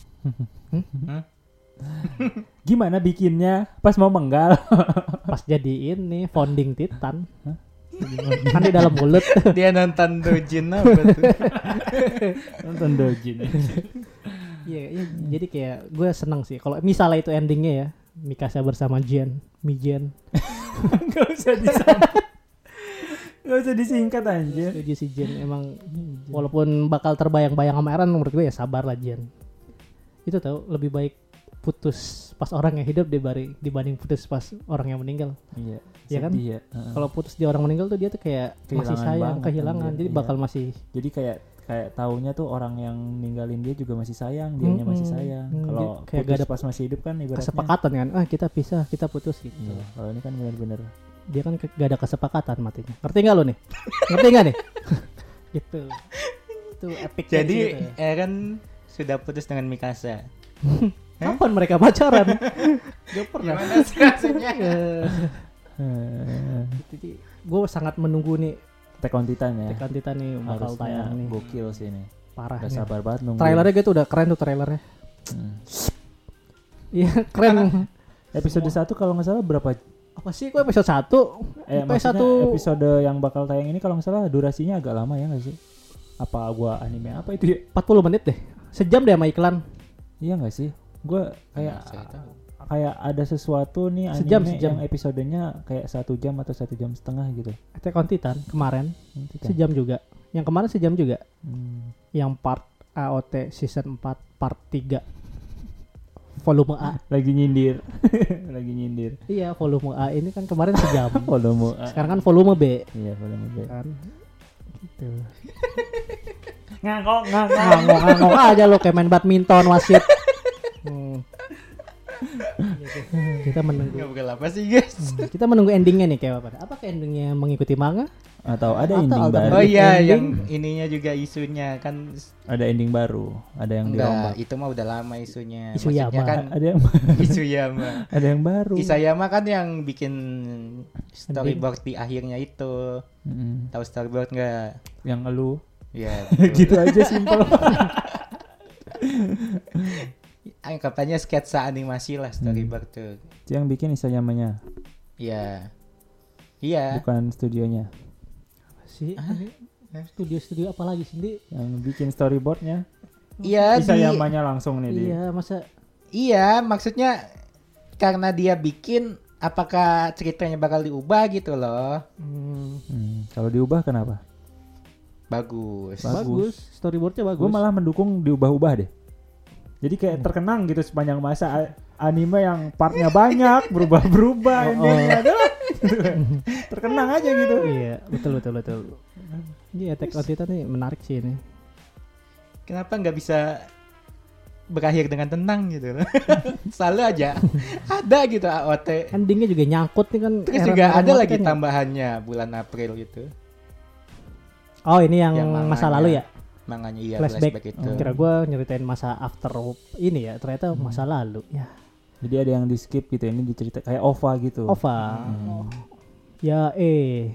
Gimana bikinnya? Pas mau menggal. Pas jadi ini founding Titan. Kan di dalam mulut. Dia nonton Dojin apa tuh? Nonton Dojin. Iya, iya, jadi kayak gue seneng sih kalau misalnya itu endingnya ya Mikasa bersama Jen, Mijen. Gak usah disingkat. Gak usah disingkat anjir. Setuju si Jen emang walaupun bakal terbayang-bayang sama Eren menurut gue ya sabar lah Jen. Itu tahu lebih baik putus pas orang yang hidup dibanding dibanding putus pas orang yang meninggal. Iya. Iya kan? sedih ya. Heeh. Kalau putus di orang meninggal tuh dia tuh kayak masih Kehilangan sayang, banget, kehilangan. anjir. Jadi Iya. bakal masih Jadi kayak kayak taunya tuh orang yang ninggalin dia juga masih sayang, dianya masih Mm-mm. sayang. Mm, Kalau dia kayak putus gak ada pas masih hidup kan ibaratnya. kesepakatan kan. Ah, kita pisah, kita putus gitu. Iya, kalau ini kan benar-benar. Dia kan ke- gak ada kesepakatan matinya. Ngerti nggak lo nih? Ngerti nggak nih? gitu. Itu epic. Jadi gitu. Eren sudah putus dengan Mikasa. Kapan mereka pacaran? Gak pernah. Gimana sih rasanya? Eh, Jadi gue sangat menunggu nih Attack on Titan ya. Tekan Titan nih bakal Harusnya tayang nih. gokil sih ini. Parah. Gak nih. sabar banget nunggu. Trailernya gitu udah keren tuh trailernya. Hmm. Iya keren. Episode satu kalau nggak salah berapa? Apa sih kok episode satu? Eh, Episode maksudnya satu episode yang bakal tayang ini kalau nggak salah durasinya agak lama ya nggak sih? Apa gua anime apa itu ya? empat puluh menit deh. Sejam deh sama iklan. Iya nggak sih? Gua kayak Saya tahu. kayak ada sesuatu nih anime Sejam, sejam. yang episodenya kayak satu jam atau satu jam setengah gitu. Attack on Titan kemarin Nanti kan. sejam juga. Yang kemarin sejam juga. Hmm. Yang part A O T season empat part tiga. Volume A. Lagi nyindir, lagi nyindir. Iya, volume A ini kan kemarin sejam. Volume A. Sekarang kan volume B. Iya, volume B. Kan. Gitu. Ngangkok, ngangkok. Ngangok-ngangok aja lo kayak main badminton wasit. Hmm. Gitu. Kita menunggu Ngobrol apa sih guys? kita menunggu endingnya nih kayak apa? Apakah endingnya mengikuti manga? Atau ada Atau ending alternatif. baru? Oh iya, ending. yang ininya juga isunya kan Ada ending baru, ada yang enggak, dirombak. itu mah udah lama isunya. Isuyama. Maksudnya kan Ada yang Isuyama. ada yang baru. Isayama kan yang bikin storyboard di akhirnya itu. Mm-mm. Tahu storyboard enggak? Yang elu. Ya. Gitu aja simpel. Anggapannya sketsa animasi lah storyboard tuh. Itu yang bikin Isayamanya, Iya. Iya. bukan studionya. Si studio-studio apa lagi sih? Di? Yang bikin storyboardnya Iya, di, Isayamanya langsung nih dia. Iya, masa iya, maksudnya karena dia bikin apakah ceritanya bakal diubah gitu loh. hmm, Hmm, kalau diubah kenapa? Bagus. Bagus. bagus. Storyboardnya bagus. Gue malah mendukung diubah-ubah deh. Jadi kayak terkenang gitu sepanjang masa a- anime yang partnya banyak, berubah-berubah Oh, endingnya adalah terkenang aja gitu. Iya, betul betul betul. Iya, Attack on Titan nih menarik sih ini. Kenapa nggak bisa berakhir dengan tenang gitu. Selalu aja ada gitu A O T. Endingnya juga nyangkut nih kan. Terus Aaron- juga Aaron ada mati lagi kan ya? tambahannya bulan April gitu. Oh ini yang, Yang manganya. masa lalu ya? Manganya iya Flashback. flashback, itu. Kira gue nyeritain masa after ini ya, ternyata masa lalu. Ya, Jadi ada yang di skip gitu, ini dicerita kayak O V A gitu. Ova. Hmm. Ya eh.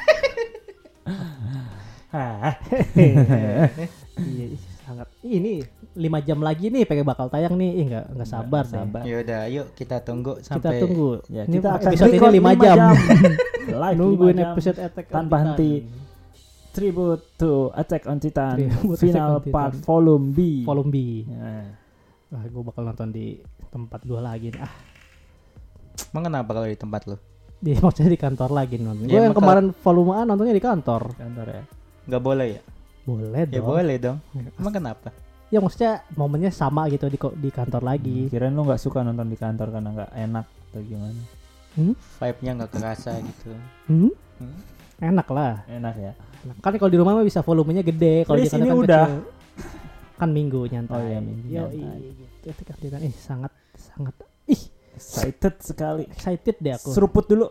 Hah. Iya, sangat. Ini lima jam lagi nih pengen bakal tayang nih. Ih enggak enggak sabar deh. sabar. Ya udah, yuk kita tunggu Kita sampai tunggu. Ya, Ini kita akan episode ini record lima lima jam. jam. Live Nungguin lima jam. episode Attack on Tanpa Titan. henti. Tribute to Attack on Titan Tribute Final Attack on Titan. Part Volume B. Volume B. Nah, Wah, gue bakal nonton di tempat gue lagi nih. Ah, Emang kenapa kalau di tempat lu? di maksudnya di kantor lagi nonton. Ya, Gue yang emang kemarin volume A nontonnya di kantor. kantor ya. Nggak boleh ya? Boleh Ya dong. boleh dong. Emang kenapa? Ya maksudnya momennya sama gitu di ko- di kantor lagi. Kirain lu nggak suka nonton di kantor karena nggak enak atau gimana? Hmm? Vibe-nya nggak kerasa gitu. Hmm? Hmm? Enak lah. Enak ya. Nah, kan kalau di rumah mah bisa volumenya gede, kalau di Please, kantor ini kan udah. kecil. Kan minggu nyantai. Oh iya, minggu Yo, nyantai. gitu. Itu kan Titan. Ih, sangat sangat ih, Excited sekali. excited deh aku. Seruput dulu.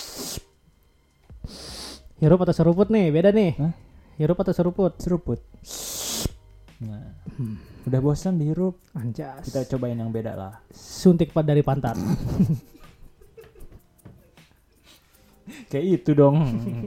Hirup atau seruput nih? Beda nih. Hah? Hirup atau seruput? Seruput. Nah, udah bosan dihirup. Anjas. Kita cobain yang beda lah. Suntik pad dari pantat. Kayak itu dong.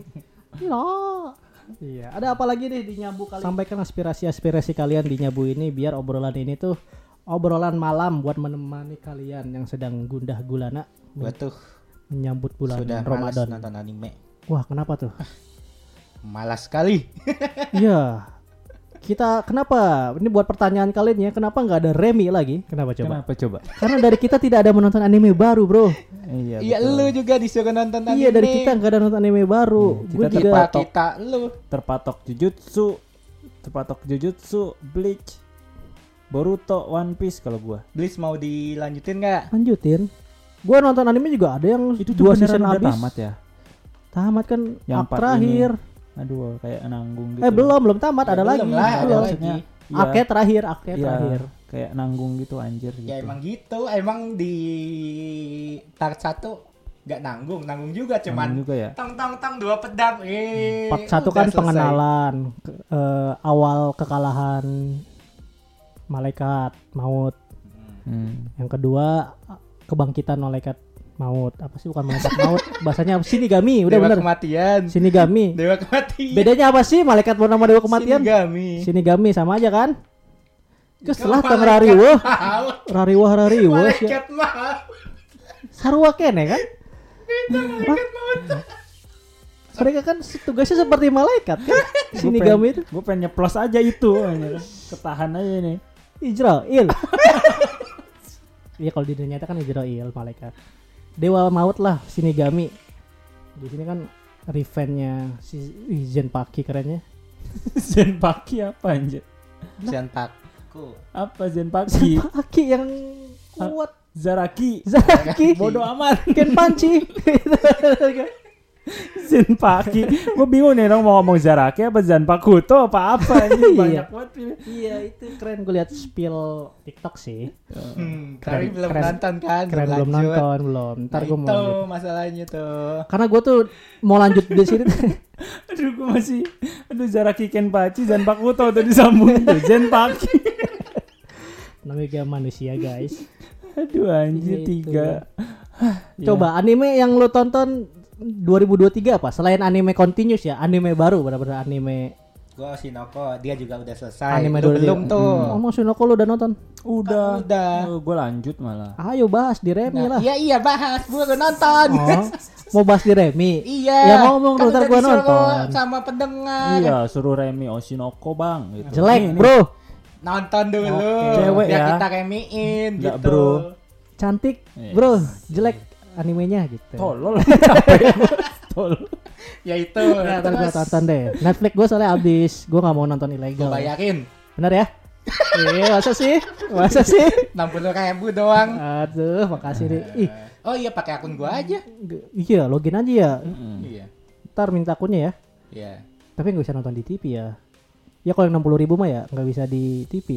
Loh. Iya, ada apa lagi nih di Nyabu kali? Sampaikan aspirasi-aspirasi kalian di Nyabu ini biar obrolan ini tuh obrolan malam buat menemani kalian yang sedang gundah gulana Gua tuh menyambut bulan sudah malas Ramadan. nonton anime. Wah, kenapa tuh? Malas sekali. Iya. Kita kenapa? Ini buat pertanyaan kalian ya, kenapa nggak ada Remi lagi? Kenapa coba? Kenapa coba? Karena dari kita tidak ada menonton anime baru, bro. Iya, Iya, betul. lu juga disuruh nonton anime. Iya, dari kita nggak ada nonton anime baru. Hmm, Gue kita juga terpatok. kita lu. Terpatok Jujutsu, terpatok Jujutsu, Bleach, Boruto, One Piece kalau gua. Bleach mau dilanjutin nggak? lanjutin. Gue nonton anime juga ada yang Itu tuh dua beneran season udah habis. tamat ya? Tamat kan Yang arc part terakhir. Aduh, kayak nanggung gitu. Eh belum, belum tamat, Ya, ada belum lagi. lah, ada Belum. lagi. Maksudnya, iya, Arc terakhir, arc iya, terakhir. kayak nanggung gitu anjir gitu. Ya emang gitu. Emang di part satu nggak nanggung, nanggung juga Nanggung cuman juga ya. tang tang tang dua pedang. Eh, Part satu udah kan selesai. pengenalan ke- eh, awal kekalahan malaikat maut. Hmm. Yang kedua kebangkitan malaikat maut. Apa sih bukan malaikat maut? Bahasanya Shinigami, udah Dewa bener. kematian. Shinigami. Dewa kematian. Bedanya apa sih malaikat bernama dewa kematian? Shinigami. Shinigami sama aja kan? Terus Kan setelah teng malaikat rariweuh, maut. rariwah rariweuh, Malaikat maut. sarua kene kan? Hah? Mereka kan tugasnya seperti malaikat kan? Shinigami itu Gue pengen nyeplos aja itu anjir. Ketahan aja nih. Izrail. Iya kalau di dunia nyata kan Izrail malaikat. Dewa maut lah Shinigami. Di sini kan revenge-nya si wih, Zenpaki kerennya. Zenpaki apa anjir? Senpaku. Apa Zenpaki? Zenpaki yang kuat. Zaraki. Zaki. Bodoh amat. Kenpachi. Zenpaki. Gue bingung nih dong mau ngomong Zaraki apa Zanpakuto apa apa ini banyak Iya. banget pilih. Iya itu keren, gue lihat spill TikTok sih. Hmm, Keren, tapi belum keren. nonton kan? Keren belum lanjut. nonton belum. Ntar Nah, gue mau itu lanjut. masalahnya tuh. Karena gue tuh mau lanjut di sini. Aduh gue masih aduh Zaraki Kenpachi Zanpakuto tuh disambung tuh Zenpaki. Namanya kayak manusia guys. Aduh anjir Iya, itu. tiga. Coba anime yang lo tonton dua ribu dua puluh tiga apa? Selain anime continuous ya, anime baru benar-benar anime. Gua Shinoko, dia juga udah selesai. Anime Lu dulu belum dia. tuh. Oh, mau Shinoko lo udah nonton? Udah. Udah. Oh, gue lanjut malah. Ayo bahas di Remi Nah, lah. iya iya bahas, gua udah nonton. Oh, mau bahas di Remi? Iya. Ya ngomong dulu, kan ntar udah gua disuruh nonton. sama pendengar. Iya suruh Remi Oshinoko bang gitu. Jelek Nih, nih. bro, Nonton dulu. Oke. Cewek biar ya. kita remiin Nggak, gitu. bro. cantik Yes. bro, jelek animenya gitu. Tolol. Capek. Tolol. Ya itu. Ya, ntar gue terus tonton deh. Netflix gue soalnya abis, gue nggak mau nonton gua ilegal. bayarin Bener ya? Iya, masa sih? Masa sih? enam puluh ribu doang. Aduh, makasih nih. Ih, Oh iya pakai akun gua aja. g- iya login aja ya. Mm. Iya. Ntar minta akunnya ya. Iya. Tapi nggak bisa nonton di T V ya. Ya kalau yang enam puluh ribu mah ya nggak bisa di T V.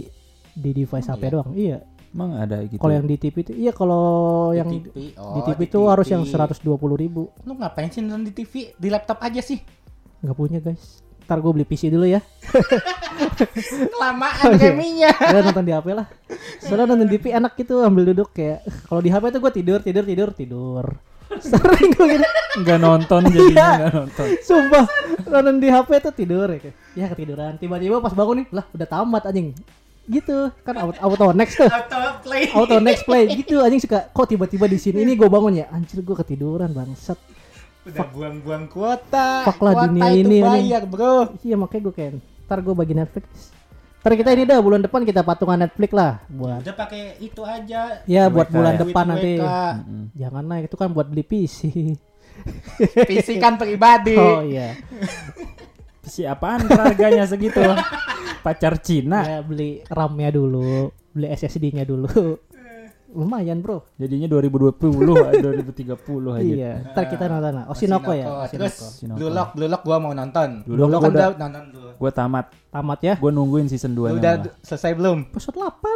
di device Oh, H P iya? doang. Iya. Emang ada gitu. Kalau yang di T V itu iya kalau yang Di T V. Oh, di T V di itu harus yang T V. seratus dua puluh ribu. Lu ngapain sih nonton di T V? Di laptop aja sih. Nggak punya guys. Ntar gue beli P C dulu ya. Kelamaan Oh, iya. gamingnya. Ya nonton di H P lah. Soalnya nonton di T V enak gitu ambil duduk kayak kalau di H P tuh gue tidur tidur tidur tidur. Sering gue gitu. Nggak nonton jadinya Iya. nggak nonton. Sumpah nonton di H P tuh tidur ya. kayak, Ya ketiduran. Tiba-tiba pas bangun nih lah udah tamat anjing. Gitu kan auto, auto next tuh. Auto play. Auto next play gitu anjing suka kok tiba-tiba di sini ini gue bangun ya anjir gue ketiduran bangsat. Udah buang-buang kuota. Fuck lah Kuota dunia itu ini, bayar, Bro. Iya makanya gue kayak ntar gue bagi Netflix. Ntar kita ini dah bulan depan kita patungan Netflix lah buat Udah pakai itu aja. ya buat W K bulan ya? depan Duit nanti. W K. Mm-mm. Jangan lah itu kan buat beli P C. P C kan pribadi. Oh iya. P C apaan harganya segitu? Pacar Cina. Ya beli RAM-nya dulu, beli S S D-nya dulu. Lumayan, Bro. Jadinya dua ribu dua puluh, dua ribu tiga puluh aja. Iya, ntar kita nonton lah. Oshinoko ya, Terus Oshinoko. Oshinoko. Blue Lock, Blue Lock gua mau nonton. Blue Lock Blue Lock kan udah- udah nonton dulu. Gue tamat. Tamat ya. Gue nungguin season Lu dua-nya. udah malah. selesai belum? Episode delapan.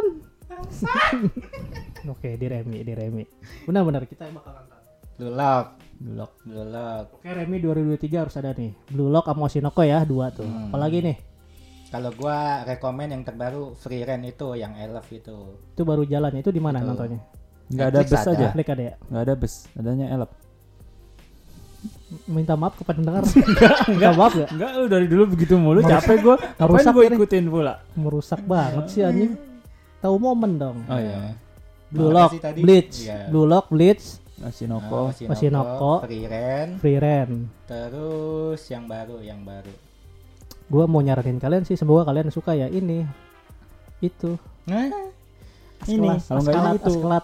Oke, di Remi, di Remi. Benar-benar kita bakal nonton. Blue Lock, Blue Lock. Blue Lock. Oke, Remi dua ribu dua puluh tiga harus ada nih. Blue Lock sama Oshinoko ya, dua tuh. Hmm. Apalagi nih? Kalau gua rekomen yang terbaru Free Rent itu yang I Love itu. Itu baru jalan. Itu di mana Itu. nontonnya? Nggak ada Netflix bus ada. aja. Netflix ada ya? Nggak ada bus. Adanya elep. Minta maaf kepada pendengar. Minta maaf gak? Enggak, lu dari dulu begitu mulu. Capek gue. Ngapain Merusak gue ini. ikutin pula? Merusak banget sih anjing. Tahu momen dong. Oh iya. Blue Apa Lock, sih tadi? Bleach, Iya. Blue Lock, Bleach, Oshinoko. Nah, Oshinoko. Free Rent, Free Rent. terus yang baru, yang baru. Gue mau nyaranin kalian sih, semoga kalian suka ya ini, itu. Nah, Ini, Askelat, kalau nggak askelat, ini itu. askelat,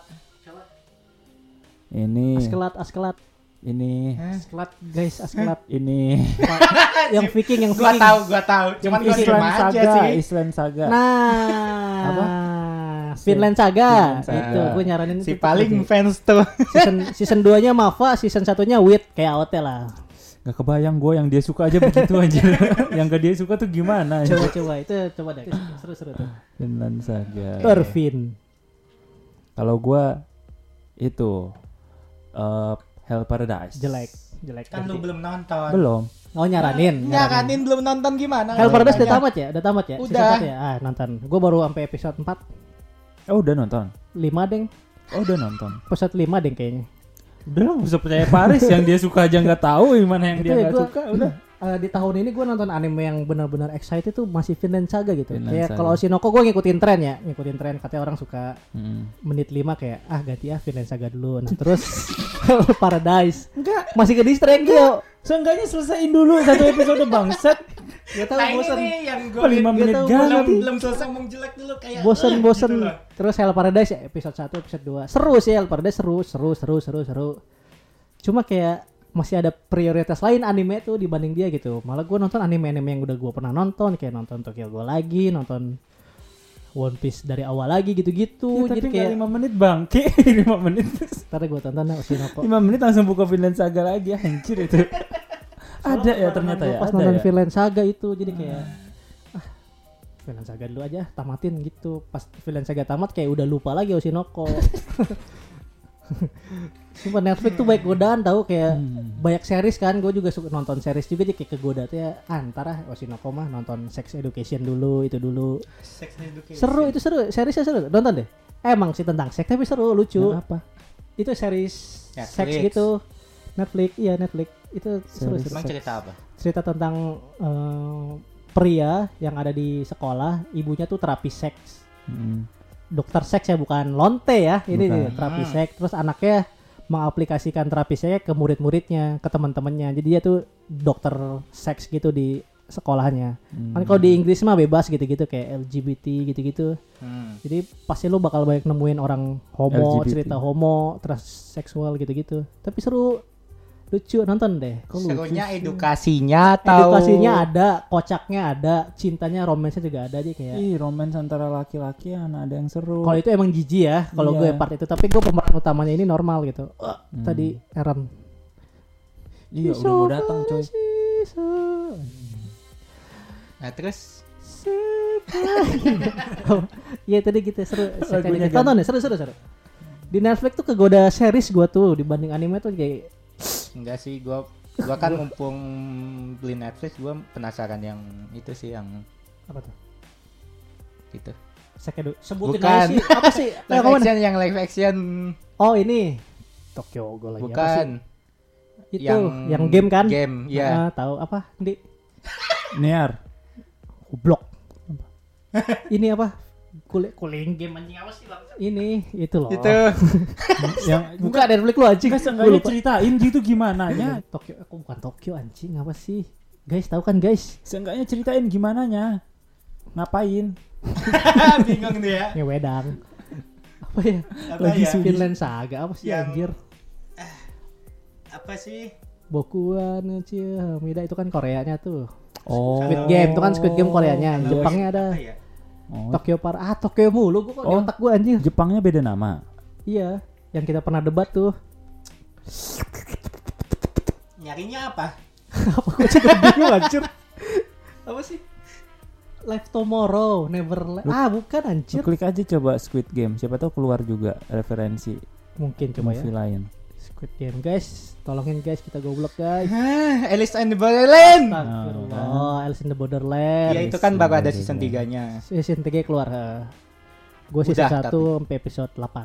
Ini. askelat, askelat, Ini. askelat, guys, askelat. Ini. yang Viking, yang gua Viking. tahu, gua tahu. Cuman gua diem Island aja Saga. sih. Island Saga. Nah, Apa? Finland Saga. Finland Saga. Itu gue nyaranin Si itu. paling tuh. fans tuh. season season dua-nya Mava, season satunya Wit kayak A O T lah. Gak kebayang gue yang dia suka aja begitu aja. Yang gak dia suka tuh gimana? Coba coba itu coba deh. Seru-seru tuh. Finland Saga. Tervin. Kalau gue itu uh, Hell Paradise. Jelek, jelek. Kan lu belum nonton. Belum. Oh nyaranin. Nyaranin belum nonton gimana? Hell Paradise udah Nanya. tamat ya? Udah tamat ya? Season Udah. satu ya? Ah, nonton. Gue baru sampai episode empat, Oh udah nonton. lima deng. Oh udah nonton. Episode lima deng kayaknya. Udah nggak usah percaya Paris. Yang dia suka aja nggak tahu gimana yang Itu dia ya nggak gua- suka. Udah. Eh, di tahun ini gue nonton anime yang benar-benar excited tuh masih Vinland Saga gitu. Vinland Kayak Saga. kalau Oshinoko gue ngikutin tren ya, ngikutin tren katanya orang suka Hmm. menit lima kayak ah ganti ah Vinland Saga dulu. Nah terus Paradise. Enggak, masih ke distract yo. Seenggaknya selesaiin dulu satu episode bangsat. Gak tau Nah ini bosan. nih yang gue Kok lima Gak menit tahu, belum ganti. belum selesai ngomong jelek dulu kayak Bosan eh, bosan. gitu loh. Terus Hell Paradise ya episode satu, episode dua. Seru sih Hell Paradise seru, seru, seru, seru, seru. Cuma kayak masih ada prioritas lain anime tuh dibanding dia gitu. Malah gue nonton anime-anime yang udah gue pernah nonton, kayak nonton Tokyo Ghoul lagi, nonton One Piece dari awal lagi gitu-gitu. Ya, tapi Jadi nggak kayak lima menit bangke. lima menit. ntar gue tonton dah Oshinoko. lima menit langsung buka Vinland Saga lagi. Anjir itu. Ada ya ternyata ya. Pas Ada nonton ya. Vinland Saga itu jadi kayak ah Vinland Saga dulu aja tamatin gitu. Pas Vinland Saga tamat kayak udah lupa lagi Oshinoko. Sumpah Netflix tuh baik godaan tahu kayak Hmm. banyak series kan. Gue juga suka nonton series juga jadi kayak kegoda tuh ya. Ah, ntar ah Oshinoko mah nonton Sex Education dulu itu dulu. Sex Education. Seru itu seru. Seriesnya seru. Nonton deh. Emang sih tentang seks tapi seru lucu. Yang apa? Itu series Netflix. seks gitu. Netflix, iya Netflix. Itu seru, Series seru. Emang cerita apa? Cerita tentang eh, pria yang ada di sekolah, ibunya tuh terapi seks. Hmm. Dokter seks ya, bukan lonte ya. Ini Bukan. nih, terapi Hmm. seks. Terus anaknya mengaplikasikan terapi seks ke murid-muridnya, ke teman-temannya. Jadi dia tuh dokter seks gitu di sekolahnya. Hmm. Kan kalau di Inggris mah bebas gitu-gitu kayak L G B T gitu-gitu. Hmm. Jadi pasti lu bakal banyak nemuin orang homo, L G B T. cerita homo, transseksual gitu-gitu. Tapi seru, lucu, nonton deh. Kok lucu Serunya sih? edukasinya atau Edukasinya ada, kocaknya ada, cintanya, romansnya juga ada aja kayak. Ih, romance antara laki-laki mana ada yang seru. Kalau itu emang jijik ya, kalau Iya. gue part itu. Tapi gue pemeran utamanya ini normal gitu. Wah, Hmm. Tadi Aaron. Iya, udah mau datang coy. Nah terus Iya tadi gitu seru. Lagunya Sekali tonton ya seru seru seru. Di Netflix tuh kegoda series gua tuh dibanding anime tuh kayak Enggak sih, gua gua kan mumpung beli Netflix, gua penasaran yang itu sih yang apa tuh? gitu. Sekedo sebutin Bukan. aja sih. Apa sih? Live Yang mana? action yang live action Oh ini Tokyo Ghoul lagi apa sih? bukan. Itu yang yang, game kan? Game, ya. Ah, tahu apa? Di Niar. goblok. Ini apa? Kulit kuling game anjing apa sih bang? Ini itu loh. Itu Yang Buka Netflix lu anjing. Enggak Gua seenggaknya lupa. ceritain gitu gimana nya. Tokyo aku bukan Tokyo anjing apa sih? Guys, tahu kan guys? Seenggaknya ceritain gimana nya. Ngapain? bingung dia. Ngewedang. Apa ya? Apa Lagi ya? su- Finland Saga apa sih Yang- anjir? Apa sih? Boku wa no Hamida itu kan Koreanya tuh. Oh. Squid Game itu kan Squid Game Koreanya. Kalau Jepangnya ada apa ya? Oh. Tokyo Par ah Tokyo mulu gua kok di Oh. otak gua anjir. Jepangnya beda nama. Iya, yang kita pernah debat tuh. Nyarinya apa? Apa gua juga bingung anjir. Apa sih? Live Tomorrow, Never Lu- Ah, bukan Lu anjir. klik aja coba Squid Game. Siapa tahu keluar juga referensi Mungkin coba ya. movie lain. Squid Game, guys. Tolongin guys, kita goblok guys. Hah, Alice in the Borderland. Astagfirullah, Alice in the Borderland. Ya itu kan baru ada season tiganya. Season tiga keluar. Gue season Udah, satu sampai episode delapan.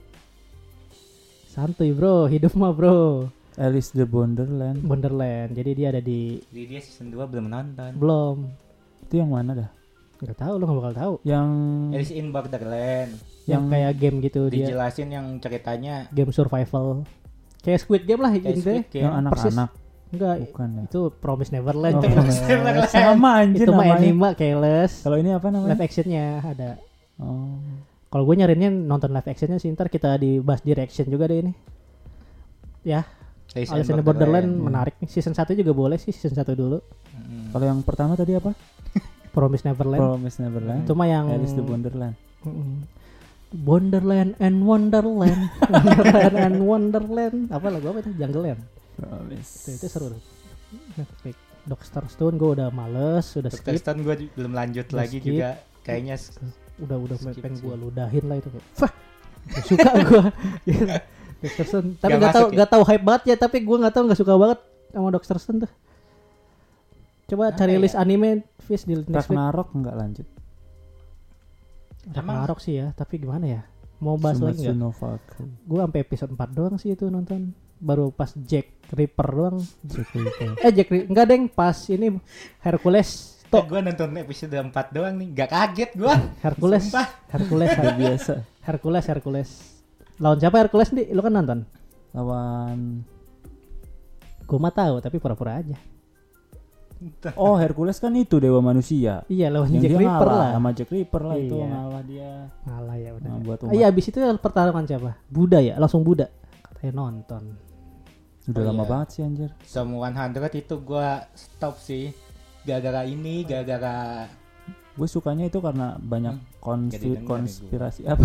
Santuy bro, hidup mah bro. Alice the Borderland. Borderland. Jadi dia ada di Jadi dia season dua belum nonton. belum. Itu yang mana dah? Nggak tahu, lo nggak bakal tahu. Yang Alice in Borderland. Yang Yang- kayak game gitu dia. Dijelasin yang ceritanya Game survival. Kayak Squid Game lah kayak intinya. Squid Game. yang anak-anak. Enggak, Bukan ya. itu Promise Neverland. Oh, Itu, Promise Neverland. sama anjir itu mah namanya. anime Keyless. Kalau ini apa namanya? Live actionnya ada. Oh. Kalau gue nyarinya nonton live actionnya sih, ntar kita dibahas di reaction juga deh ini. Ya, Alice Alice in the Borderland ya. menarik nih. Season satu juga boleh sih, season satu dulu. Mm. Kalau yang pertama tadi apa? Promise Neverland. Promise Neverland. Itu mah yang Alice the Borderland. Mm-mm. Wonderland and Wonderland. Wonderland and Wonderland. Apa lagu apa itu? Jungle Land. Promise. Itu, itu seru tuh. Netflix. Doctor Stone gue udah males, udah Doctor skip. Stone gue belum lanjut Udah lagi skip. juga. Kayaknya s- Udah udah Skip pengen sih. gue ludahin lah itu. Wah, gak suka gue. Doctor Stone. Tapi Gak nggak tahu masuk ya? nggak tahu hype banget ya. Tapi gue nggak tahu nggak suka banget sama Doctor Stone tuh. Coba Apa cari ya? list anime Fish di Netflix. Ragnarok enggak lanjut. Ragnarok sih ya. Tapi gimana ya? Mau bahas lagi Sumatsu nggak? no Valkyrie. Gue sampai episode empat doang sih itu nonton. Baru pas Jack Ripper doang. Jack Ripper. Eh Jack Ripper enggak deng, pas ini Hercules. Tuh, Tok gue nonton episode empat doang nih. Gak kaget gue. Hercules. Sumpah. Hercules. Udah biasa. Hercules Hercules. Lawan siapa Hercules nih? Lu kan nonton? Lawan Gue mah tahu tapi pura-pura aja. Oh, Hercules kan itu dewa manusia. Iya lawan Yang Jack dia Ripper ngalah lah. sama Jack Ripper lah itu Iya. ngalah dia. Ngalah ya udah. Nah, buat Ah, umat. iya abis itu pertarungan siapa? Buddha ya, langsung Buddha. Katanya nonton. Udah Oh, lama iya. banget sih anjir. Semua seratus itu gue stop sih. Gara-gara ini, gara-gara Gue sukanya itu karena banyak Hmm. konspir- Jadi denger nih konspirasi apa?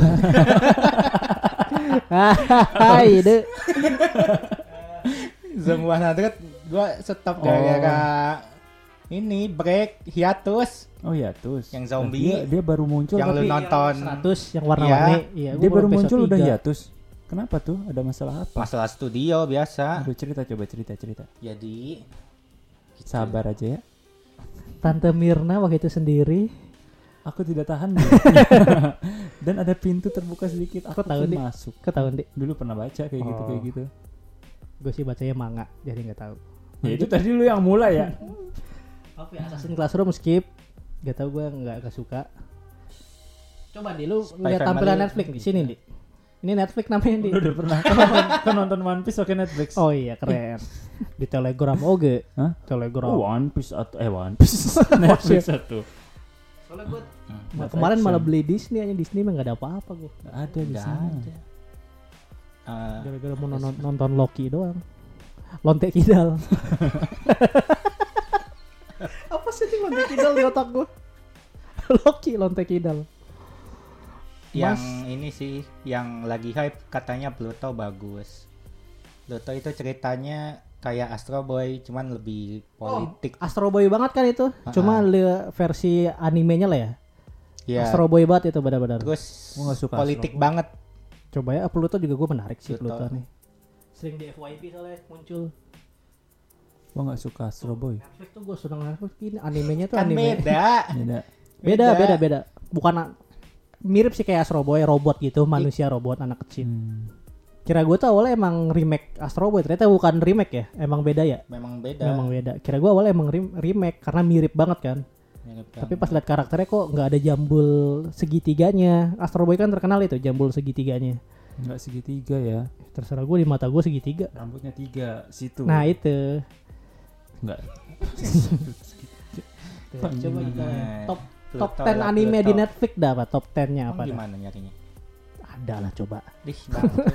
Hai deh. semua seratus gue stop Oh. gara-gara ini break hiatus Oh iya, terus. Yang zombie. Dia, dia baru muncul yang lu tapi nonton seratus yang warna-warni. Iya, dia gua baru episode muncul udah tiga. hiatus. Kenapa tuh? Ada masalah apa? masalah studio biasa. Aduh, cerita coba cerita cerita. Jadi Sabar aja ya. Tante Mirna waktu itu sendiri. Aku tidak tahan. nih. Dan ada pintu terbuka sedikit. Aku Aku tahu, pun Dik. masuk. Ketahuan deh. Dulu pernah baca kayak gitu Oh. kayak gitu. Gue sih bacanya manga, jadi nggak tahu. Ya itu tadi lu yang mulai ya. Apa ya? Assassin's Classroom skip. Gak tau gue nggak nggak suka. Coba di lu Spy lihat Family. tampilan Netflix di sini di. Ini Netflix namanya di. Udah, udah pernah kan nonton, kan nonton One Piece pakai Netflix. Oh iya keren. Di Telegram oke. Hah? Telegram. Oh, One Piece atau eh One Piece Netflix satu. Soalnya gue Hmm. kemarin malah beli Disney aja Disney mah nggak ada apa-apa gue. Nggak ada di Nggak sana. ada. Eh, Gara-gara mau nonton, nonton Loki doang. Lonte Kidal. Apa sih nih Lonte Kidal di otak gue? Loki Lonte Kidal. yang Mas- ini sih yang lagi hype katanya Pluto bagus. Pluto itu ceritanya kayak Astro Boy cuman lebih politik. Astro Boy banget kan itu. Ah, Cuma ah. li- versi animenya lah ya. Iya. Astro Boy banget itu benar-benar. Terus Gua nggak suka politik Astro Boy. banget. Coba ya Pluto juga gue menarik sih Pluto. Pluto nih. Sering di F Y P soalnya muncul. Gua nggak suka Astro Boy. Netflix tuh gue seneng Netflix ini animenya tuh Kan anime. beda. Beda. beda beda beda. Bukan a- mirip sih kayak Astro Boy robot gitu, manusia robot anak kecil. Hmm. Kira gue tuh awalnya emang remake Astro Boy, ternyata bukan remake ya, emang beda ya. Memang beda. Memang beda. Kira gue awalnya emang rem- remake karena mirip banget kan. Mirip Tapi banget. pas lihat karakternya kok nggak ada jambul segitiganya. Astro Boy kan terkenal itu jambul segitiganya. Nggak segitiga ya. Terserah gue di mata gue segitiga. Rambutnya tiga situ. Nah itu. Nggak. Tuh, coba kita Nah, top Pluto top ten lah, anime Pluto. di Netflix dah apa? Top ten-nya Emang apa dah? gimana nyarinya? Ada lah coba. Dih, bangke.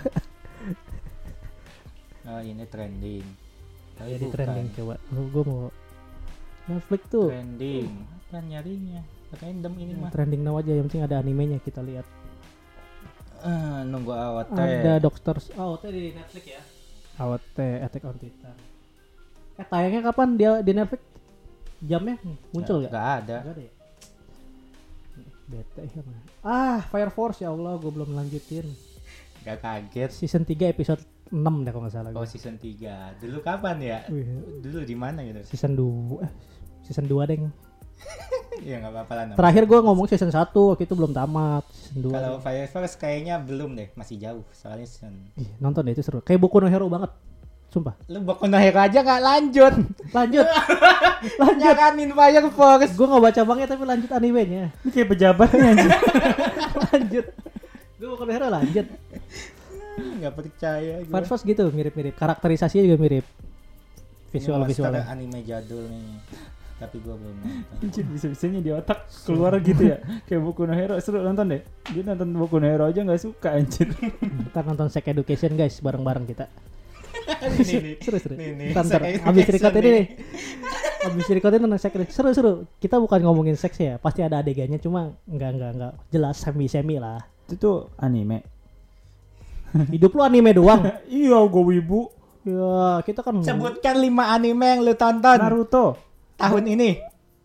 Oh, ini trending. Tapi Ya di bukan. trending coba. Gue mau Netflix tuh Trending. Apa nyarinya? Random ini mah. trending now aja, yang penting ada animenya kita lihat. Ah, nunggu A O T. Ada Doctor A O T di Netflix ya. A O T Attack on Titan. Eh tayangnya kapan dia di Netflix? Jamnya muncul Nggak- gak? nggak ada. Gak ada ya? Bete ya mana? Ah, Fire Force ya Allah, gue belum lanjutin. Gak kaget. Season tiga episode enam deh kalau nggak salah. Oh, gua. season tiga. Dulu kapan ya? Wih, Dulu di mana gitu? season dua eh season dua deng. Iya, enggak apa-apa lah. namanya. Terakhir gue ngomong season satu waktu itu belum tamat. Season dua. Kalau Fire Force kayaknya belum deh, masih jauh. Soalnya season. Ih, nonton deh itu seru. Kayak Boku no Hero banget. Sumpah. Lu Boku no Hero aja nggak lanjut. Lanjut. lanjut. Nyaranin Fire Force. Gue nggak baca banget tapi lanjut animenya. Ini kayak pejabatnya anjir. lanjut. Gue Boku no Hero lanjut. Nggak percaya. gua. Fire Force gitu mirip-mirip. Karakterisasinya juga mirip. Visual Ini visualnya. monster anime jadul nih. Tapi gua belum nonton. Anjir, bisa-bisanya di otak keluar gitu ya. Kayak Boku no Hero, seru nonton deh. Dia nonton Boku no Hero aja nggak suka anjir. Ntar nonton Sex Education guys bareng-bareng kita. Nih, nih. Seru seru. Nih, nih. Ntar ntar Sex abis Education record ini nih. nih. Abis record ini nonton Sex Education. Seru seru. Kita bukan ngomongin seks ya. Pasti ada adegannya cuma nggak nggak nggak jelas semi semi lah. Itu tuh anime. Hidup lu anime doang. Iya, gue wibu. Ya kita kan. Sebutkan lima anime yang lu tonton Naruto. tahun ini.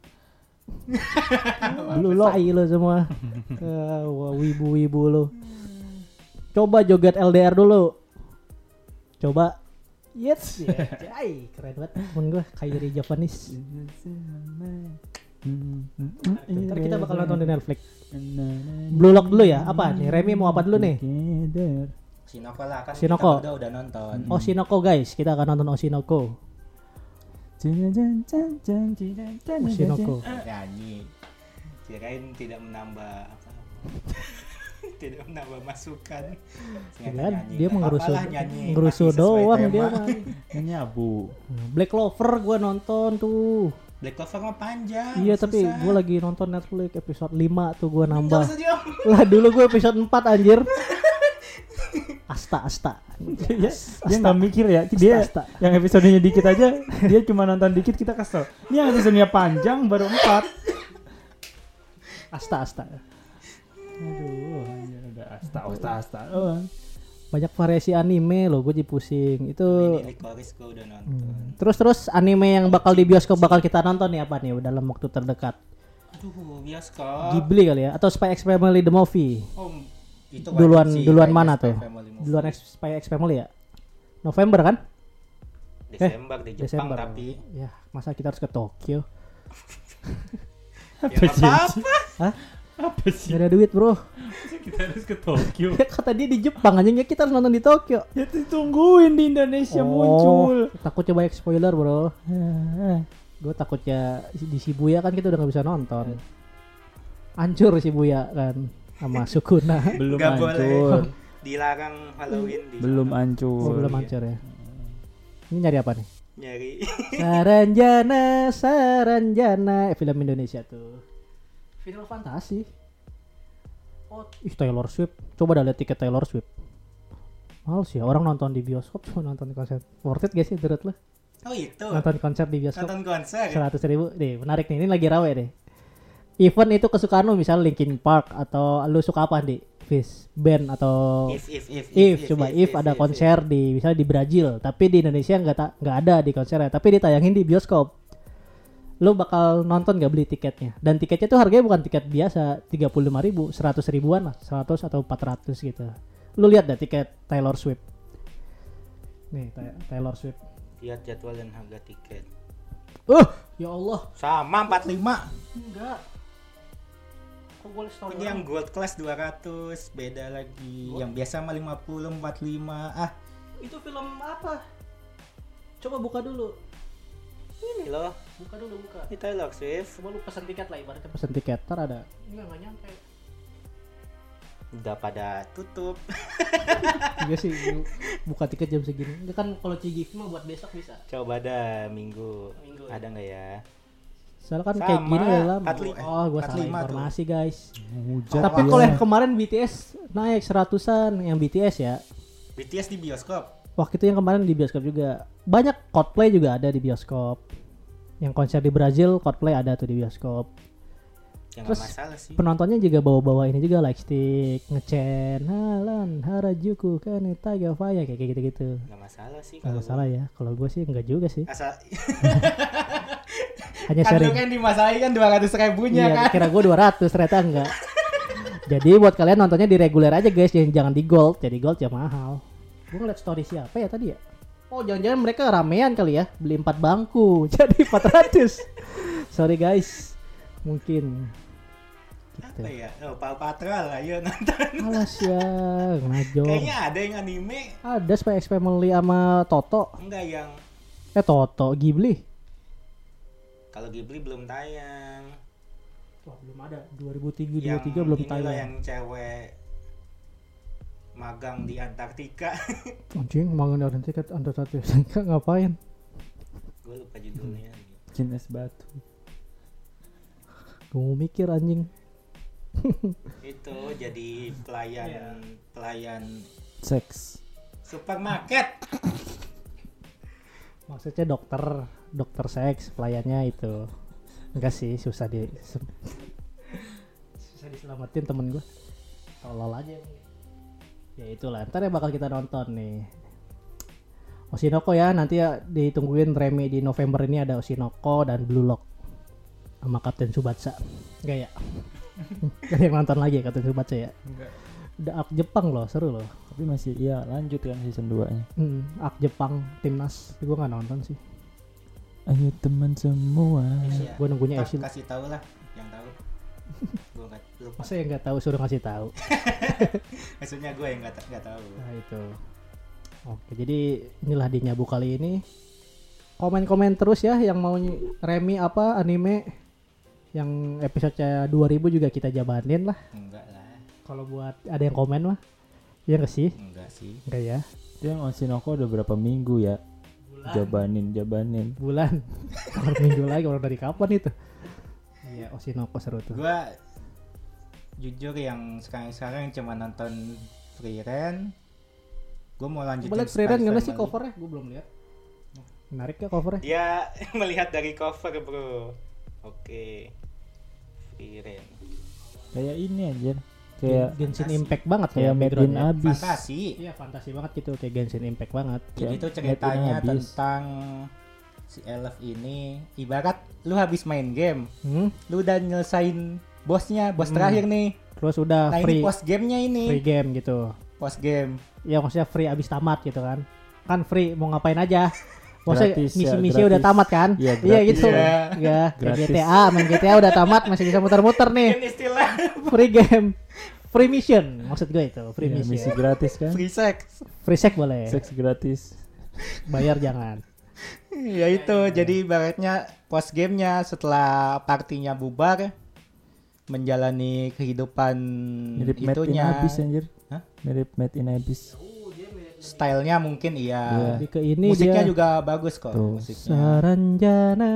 Lu tai lu semua. Eh, wah, wibu-wibu lu. Coba joget L D R dulu. Coba. Yes. Yeah. Ay, keren banget temen gue Kairi Japanese. Ntar kita bakal nonton di Netflix. Blue Lock dulu ya. Apa nih? Remy mau apa dulu nih? Shinoko lah kan Shinoko. kita udah udah nonton. Oshinoko guys. Kita akan nonton Oshinoko. Oshinoko. Nyanyi. Kirain tidak menambah apa. Tidak menambah masukan. Ternyata Kan nyanyi. dia Nggak mengerusu apa-apa lah nyanyi, ngerusu masih sesuai doang tema. dia mah. Ini abu. Black Clover gue nonton tuh. Black Clover mah panjang. Iya tapi susah. gue lagi nonton Netflix episode lima tuh gue Nggak nambah. usah diam. Lah dulu gue episode empat anjir. Asta asta. Dia, dia nggak mikir ya. Dia Asta, asta. yang episodenya dikit aja, dia cuma nonton dikit kita kesel. Ini yang episodenya panjang baru empat. Asta asta. Aduh, ya udah asta asta asta. Oh. Banyak variasi anime loh, gue jadi pusing. Itu Ini Licorice gue udah nonton. Hmm. Terus terus anime yang bakal di bioskop bakal kita nonton nih apa nih dalam waktu terdekat? Aduh, bioskop. Ghibli kali ya atau Spy X Family the movie? Oh, itu Duluan wajib sih, duluan kayak mana Spy tuh? Family movie. Duluan X- Spy X Family ya? November kan? Desember di Jepang Desember. tapi Ya, masa kita harus ke Tokyo? ya nggak apa-apa. Hah? Apa sih? Gak ada duit, Bro. Kita harus ke Tokyo. Kata dia di Jepang anjing ya kita harus nonton di Tokyo. Ya ditungguin di Indonesia muncul. Takutnya banyak spoiler, Bro. Gue takutnya di Shibuya kan kita udah gak bisa nonton. Hancur Shibuya kan sama Sukuna. Belum Nggak hancur. boleh. Dilarang Halloween di Belum sana. hancur. Oh, belum hancur ya. Ini nyari apa nih? Nyari. Saranjana, Saranjana, eh, film Indonesia tuh. Final Fantasy. Oh, ih Taylor Swift. Coba dah lihat tiket Taylor Swift. Males ya orang nonton di bioskop cuma nonton di konser. Worth it gak sih menurut lo? Oh itu. Nonton konser di bioskop Nonton konser. seratus ribu. Nih menarik nih, ini lagi rawe deh. Event itu kesukaan lu misalnya Linkin Park atau lu suka apa di Fish band atau If if if If, coba if, ada konser di misalnya di Brazil, tapi di Indonesia nggak ta- nggak ada di konsernya, tapi ditayangin di bioskop. Lu bakal nonton gak beli tiketnya? Dan tiketnya tuh harganya bukan tiket biasa tiga puluh lima ribu, seratus ribuan lah, seratus atau empat ratus gitu. Lu lihat deh tiket Taylor Swift. Nih, Ta- Taylor Swift. Lihat jadwal dan harga tiket. Uh, ya Allah. Sama empat puluh lima. Enggak. Kok gue lihat Ini yang gold class dua ratus, beda lagi. Yang biasa mah lima puluh, empat puluh lima. Ah, itu film apa? Coba buka dulu. ini loh. Buka dulu, buka. Ini Taylor Swift. Coba lu pesan tiket lah, ibaratnya pesan tiket. Ntar ada. Enggak, enggak nyampe. Udah pada tutup. Iya sih, bu- buka tiket jam segini. Enggak kan kalau C G V mah buat besok bisa. Coba dah minggu. Minggu, Ada nggak ya? Soalnya kan Sama, kayak gini udah lama. empat puluh lima, Oh, gua empat salah puluh lima tuh. informasi, guys. Hujat Tapi dia. kalau yang kemarin B T S naik seratusan yang B T S ya. B T S di bioskop. Waktu itu yang kemarin di bioskop juga. Banyak Coldplay juga ada di bioskop. Yang konser di Brazil Coldplay ada tuh di bioskop. Ya nggak Terus masalah sih. penontonnya juga bawa-bawa ini juga lightstick, ngecen, halan, harajuku, kaneta, gavaya kayak gitu-gitu. Nggak masalah sih. Gak kalau masalah ya. Kalau gue sih enggak juga sih. gua. Asal Hanya kan lu sharing. kan dimasalahin kan dua ratus ribunya Iya, kan. kira gue dua ratus ternyata enggak. Jadi buat kalian nontonnya di reguler aja guys, jangan jangan di gold. Jadi gold ya mahal. Gue ngeliat story siapa ya tadi ya? Oh, jangan-jangan mereka ramean kali ya, beli empat bangku. Jadi empat ratus. Sorry guys. Mungkin gitu. Apa ya? Oh, Paw Patrol lah, yuk nonton. Alas ya, ngajong. Kayaknya ada yang anime. Ada Spy X Family sama Toto. Enggak yang Eh Toto, Ghibli. kalau Ghibli belum tayang. Wah, belum ada. dua ribu tiga dua Yang ribu tiga belum ini loh, tayang. yang cewek magang di Antartika. Anjing, mau ngadain tiket under satu sangka ngapain? Gue lupa judulnya. Jin es batu. Gue mau mikir anjing. Itu jadi pelayan Iya. pelayan Seks. supermarket. Maksudnya dokter, dokter seks pelayannya itu. Enggak sih, susah di se- susah diselamatin temen gue. Tolol aja. Ya itulah, ntar ya bakal kita nonton nih. Oshinoko ya, nanti ya ditungguin Remi di November ini ada Oshinoko dan Blue Lock sama Kapten Tsubasa. Enggak ya? Gak ada yang nonton lagi ya Kapten Tsubasa ya? Enggak. Udah arc Jepang loh, seru loh. Tapi masih iya lanjut kan season dua nya. Hmm, arc Jepang timnas, gue nggak nonton sih. Ayo teman semua. Iya. Gue nunggunya Ntar Esil. kasih tahu lah yang tahu. Gue nggak lupa. Masa yang nggak tahu suruh ngasih tahu. Maksudnya gue yang nggak nggak tahu. Nah itu. Oke, jadi inilah di Nyabu kali ini. Komen-komen terus ya yang mau ny- Remi apa anime yang episode dua ribu juga kita jabanin lah. Enggak lah. Kalau buat ada yang komen mah. Ya nggak sih? Enggak sih. Enggak ya. Itu yang Oshinoko udah berapa minggu ya? Jabanin, jabanin. Bulan. Orang minggu lagi, orang dari kapan itu? Iya, Oshinoko seru tuh. Gue jujur yang sekarang-sekarang cuma nonton Free Ren. Gue mau lanjutin Coba lihat Spy Freeran gimana sih Family. covernya? Gue belum lihat. Menarik ya covernya? Dia melihat dari cover bro. Oke. Free Ren. Kayak ini aja. Kayak Genshin fantasi. Impact banget kayak kayak Made in backgroundnya. Abyss. Fantasi. Iya fantasi banget gitu kayak Genshin Impact banget. Jadi Kayak itu Made in ceritanya Abyss. tentang si Elf ini ibarat lu habis main game, Hmm? lu udah nyelesain bosnya, bos Hmm. terakhir nih. Terus udah Nah free ini post gamenya ini, free game gitu. post game. Ya maksudnya free abis tamat gitu kan. Kan free mau ngapain aja. Maksudnya Gratis ya, misi-misi udah gratis. tamat kan? Iya, Iya gratis gitu. ya. Ya, kayak Gratis. G T A, main G T A udah tamat masih bisa muter-muter nih. Ini istilah Free game. Free mission maksud gue itu, free Iya, mission. misi gratis kan? free sex. Free sex boleh. Seks gratis. Bayar jangan. Ya itu, jadi ibaratnya post gamenya setelah partinya bubar, menjalani kehidupan Mirip Made in itunya, Abyss anjir. Hah? Mirip Made in Abyss. stylenya mungkin iya. Jadi ke ini Musiknya dia juga bagus kok. Tuh. Musiknya. Saranjana.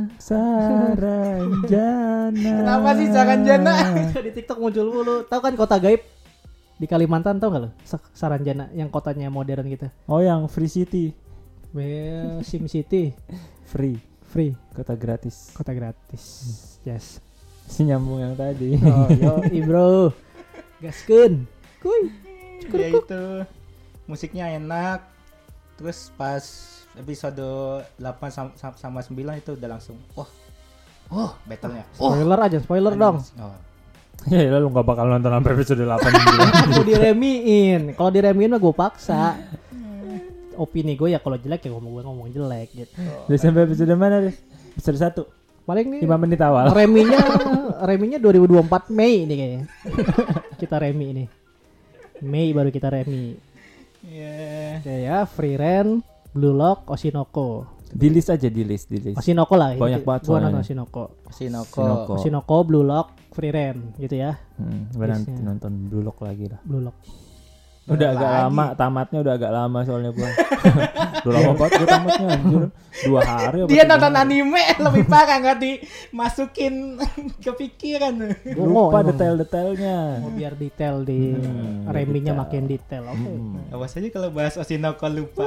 Saranjana. Kenapa sih Saranjana? Di TikTok muncul mulu. Tahu kan kota gaib di Kalimantan, tau gak lo? Sa- Saranjana yang kotanya modern gitu. Oh yang Free City. Well, Sim City Free. free, Kota gratis. kota gratis. Yes. Si nyambung yang tadi. Oh, yo, bro. Gaskeun. Kuy. Ya itu. Musiknya enak. Terus pas episode delapan sam- sam- sama sembilan itu udah langsung wah, Oh, battle-nya. Spoiler aja, spoiler dong. Oh. Ya lu gak bakal nonton sampai episode delapan. Gue diremiin. Kalau diremiin mah gue paksa. Opini gue ya kalau jelek ya ngomong gue ngomong jelek gitu. Udah sampai episode mana deh? Episode satu. Paling nih lima menit awal. Reminya reminya dua ribu dua puluh empat Mei nih kayaknya. Kita remi ini. Mei baru kita remi. Iya. Ya ya, Free Ren, Blue Lock, Oshinoko. Di list aja, di list, di list. Oshinoko lah. Banyak gitu. banget Gua soalnya. nonton Oshinoko. Oshinoko. Oshinoko. Oshinoko, Blue Lock, Free Ren gitu ya. Hmm, gue nanti Listnya. nonton Blue Lock lagi lah. Blue Lock. Udah agak Lagi. lama, tamatnya udah agak lama soalnya gua. Udah lama banget gua tamatnya anjir. Dua hari apa Dia tiga nonton hari. anime lebih parah nggak dimasukin kepikiran. Gua mau Lupa emang. detail-detailnya. Mau biar detail di Hmm, reminya detail. makin detail. Oke. Hmm. Awas aja kalau bahas Oshinoko lupa.